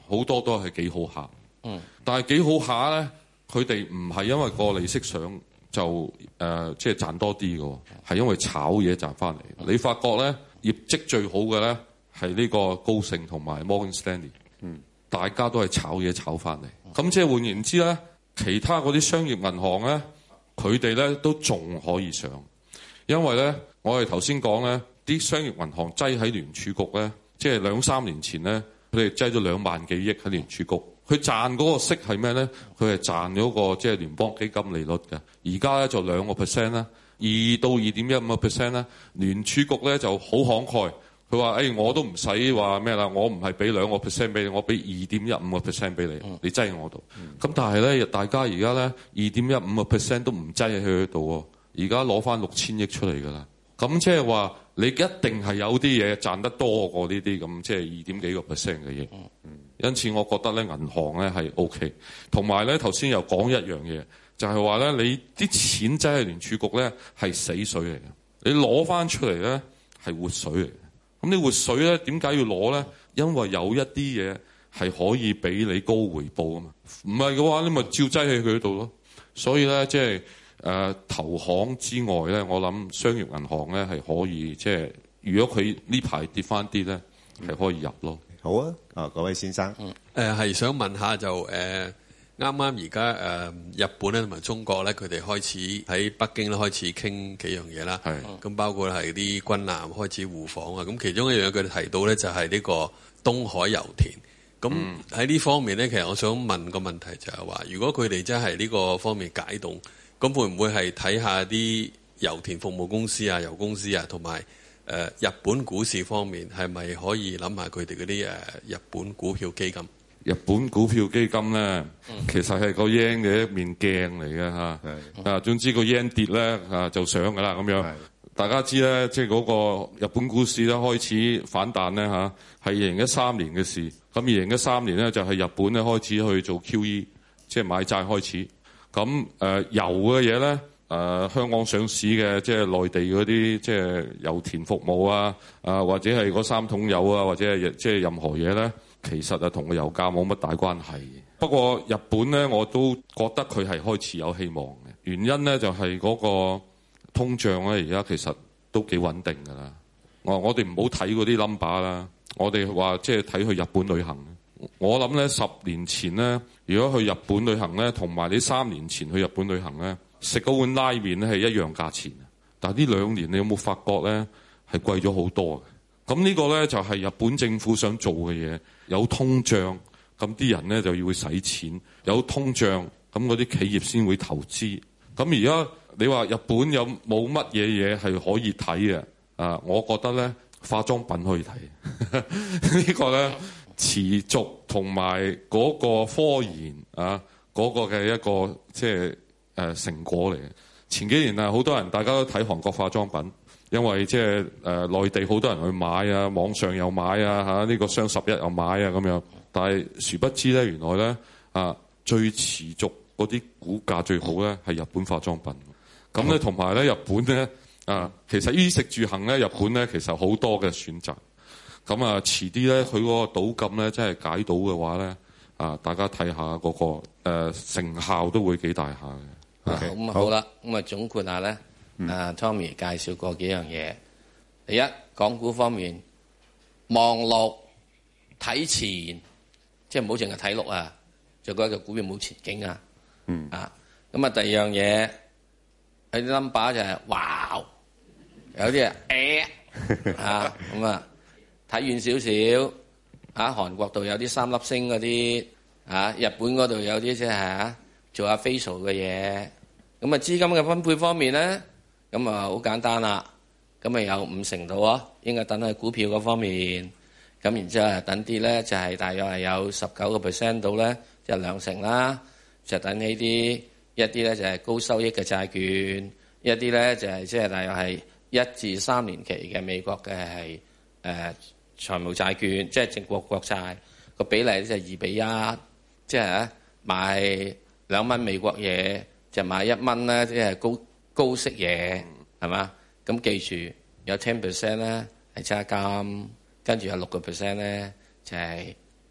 Speaker 17: 好多都係幾好下。
Speaker 1: 嗯，
Speaker 17: 但係幾好下咧，佢哋唔係因為個利息上就誒即係賺多啲嘅，係因為炒嘢賺翻嚟。嗯、你發覺咧業績最好嘅咧係呢個高盛同埋 Morgan Stanley。嗯，大家都係炒嘢炒翻嚟。咁、嗯、即係換言之咧，其他嗰啲商業銀行咧，佢哋咧都仲可以上，因為咧我哋頭先講咧啲商業銀行擠喺聯儲局咧，即係兩三年前咧，佢哋擠咗兩萬幾億喺聯儲局，佢賺嗰個息係咩咧？佢係賺咗個即係聯邦基金利率嘅，而家咧就兩個 percent 啦，二到二點一五個 percent 啦。聯儲局咧就好慷慨，佢話誒我都唔使話咩啦，我唔係俾兩個 percent 俾你，我俾二點一五個 percent 俾你，嗯、你擠喺我度。咁、嗯、但係咧，大家而家咧二點一五個 percent 都唔擠喺佢度喎，而家攞翻六千億出嚟㗎啦。咁即係話你一定係有啲嘢賺得多過呢啲咁，即係二點幾個 percent 嘅嘢。嗯、因此我覺得咧銀行咧係 OK，同埋咧頭先又講一樣嘢，就係話咧你啲錢擠喺聯儲局咧係死水嚟嘅，你攞翻出嚟咧係活水嚟嘅。咁你活水咧點解要攞咧？因為有一啲嘢係可以俾你高回報啊嘛。唔係嘅話，你咪照擠喺佢度咯。所以咧即係。誒、呃、投行之外咧，我諗商業銀行咧係可以，即係如果佢呢排跌翻啲咧，係可以入咯。
Speaker 2: 好啊，啊各位先生，
Speaker 18: 誒、呃、係想問下就誒啱啱而家誒日本咧同埋中國咧，佢哋開始喺北京咧開始傾幾樣嘢啦。係咁包括係啲軍艦開始互訪啊。咁其中一樣佢哋提到咧就係呢個東海油田。咁喺呢方面咧，其實我想問個問題就係話，如果佢哋真係呢個方面解凍。咁會唔會係睇下啲油田服務公司啊、油公司啊，同埋誒日本股市方面係咪可以諗下佢哋嗰啲誒日本股票基金？
Speaker 17: 日本股票基金咧，嗯、其實係個 yen 嘅一面鏡嚟嘅嚇。啊，總之個 yen 跌咧啊就上㗎啦咁樣。大家知咧，即係嗰個日本股市咧開始反彈咧嚇，係二零一三年嘅事。咁二零一三年咧就係日本咧開始去做 Q E， 即係買債開始。咁誒、呃、油嘅嘢咧，誒、呃、香港上市嘅即係內地嗰啲即係油田服務啊，啊或者係嗰三桶油啊，或者係即係任何嘢咧，其實啊同個油價冇乜大關係。不過日本咧，我都覺得佢係開始有希望嘅。原因咧就係、是、嗰個通脹咧，而家其實都幾穩定㗎啦。我我哋唔好睇嗰啲 number 啦，我哋話即係睇去日本旅行。我諗咧十年前咧，如果去日本旅行咧，同埋你三年前去日本旅行咧，食嗰碗拉麵咧係一樣價錢。但係呢兩年你有冇發覺咧係貴咗好多嘅？咁呢個咧就係日本政府想做嘅嘢。有通脹，咁啲人咧就要使錢；有通脹，咁嗰啲企業先會投資。咁而家你話日本有冇乜嘢嘢係可以睇嘅？啊，我覺得咧化妝品可以睇。呢個咧。持續同埋嗰個科研啊，嗰、嗰個嘅一個即係誒成果嚟嘅。前幾年啊，好多人大家都睇韓國化妝品，因為即係誒內地好多人去買啊，網上又買啊，嚇、這、呢個雙十一又買啊咁樣。但係殊不知咧，原來咧啊最持續嗰啲股價最好咧係日本化妝品。咁咧同埋咧日本咧啊，其實衣食住行咧日本咧其實好多嘅選擇。咁啊，遲啲咧，佢嗰個賭禁咧，真係解到嘅話咧，啊，大家睇下嗰個誒、呃、成效都會幾大下嘅。
Speaker 1: Okay. 咁好啦，咁啊總括下咧，嗯、啊 Tommy 介紹過幾樣嘢。第一，港股方面望落睇前，即係唔好淨係睇六啊，就覺得個股票冇前景啊。嗯。啊，咁啊第二樣嘢，有啲 number 就係、是、哇，有啲啊誒啊咁啊。睇遠少少，啊韓國度有啲三粒星嗰啲，啊日本嗰度有啲即係嚇做下 facial 嘅嘢，咁啊資金嘅分配方面咧，咁啊好簡單啦，咁啊有五成度啊，應該等喺股票嗰方面，咁然之後啊等啲咧就係、是、大約係有十九個 percent 度咧，即係兩成啦，就等呢啲一啲咧就係高收益嘅債券，一啲咧就係即係大約係一至三年期嘅美國嘅係誒。財務債券即係正國國債個比例咧就係二比一，即係咧買兩蚊美國嘢就買一蚊咧，即係高高息嘢係嘛？咁記住有 ten percent 咧係揸金，跟住有六個 percent 咧就係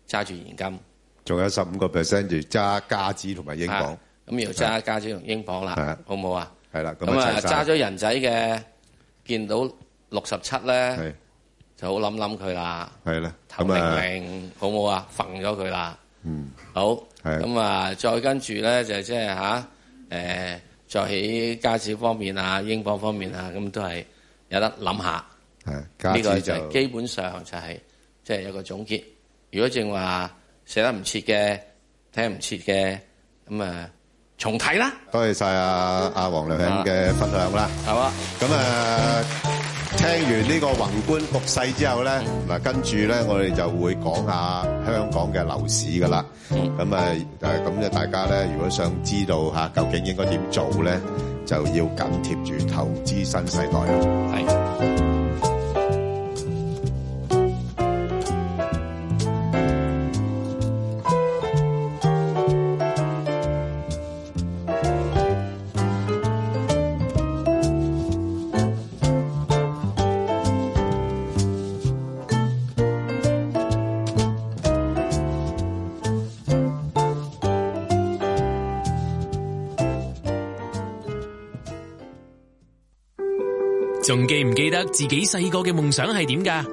Speaker 1: 揸住現金，
Speaker 2: 仲有十五個 percent 就揸加紙同埋英鎊。
Speaker 1: 咁要揸加紙同英鎊啦，好唔好啊？
Speaker 2: 係啦，
Speaker 1: 咁啊揸咗人仔嘅，見到六十七咧，就好諗諗佢啦。係啦，頭零零好唔好啊？揈咗佢啦。嗯，好。咁啊，再跟住咧就即係吓，誒，再喺加紙方面啊、英鎊方面啊，咁都係有得諗下。係，呢個就基本上就係即係有個總結。如果正話寫得唔切嘅、聽唔切嘅，咁啊重睇啦。多謝晒阿阿黃良響嘅分享啦。係嘛？咁啊，聽完呢個宏觀局勢之後咧，嗱跟住咧，我哋就會講下香港嘅樓市噶啦。咁啊誒，咁咧大家咧，如果想知道嚇究竟應該點做咧，就要緊貼住投資新世代啦。係。
Speaker 19: 仲記唔記得自己細個嘅夢想係點㗎？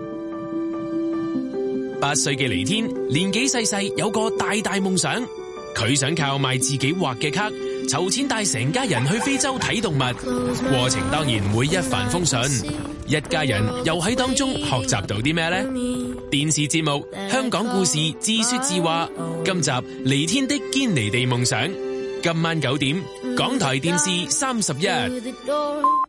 Speaker 19: 八歲嘅黎天年紀細細有個大大夢想，佢想靠賣自己畫嘅卡籌錢帶成家人去非洲睇動物，過程當然唔會一帆風順，一家人又喺當中學習到啲咩呢？電視節目《香港故事自說自話》，今集黎天的堅尼地夢想，今晚九點港台電視三十一。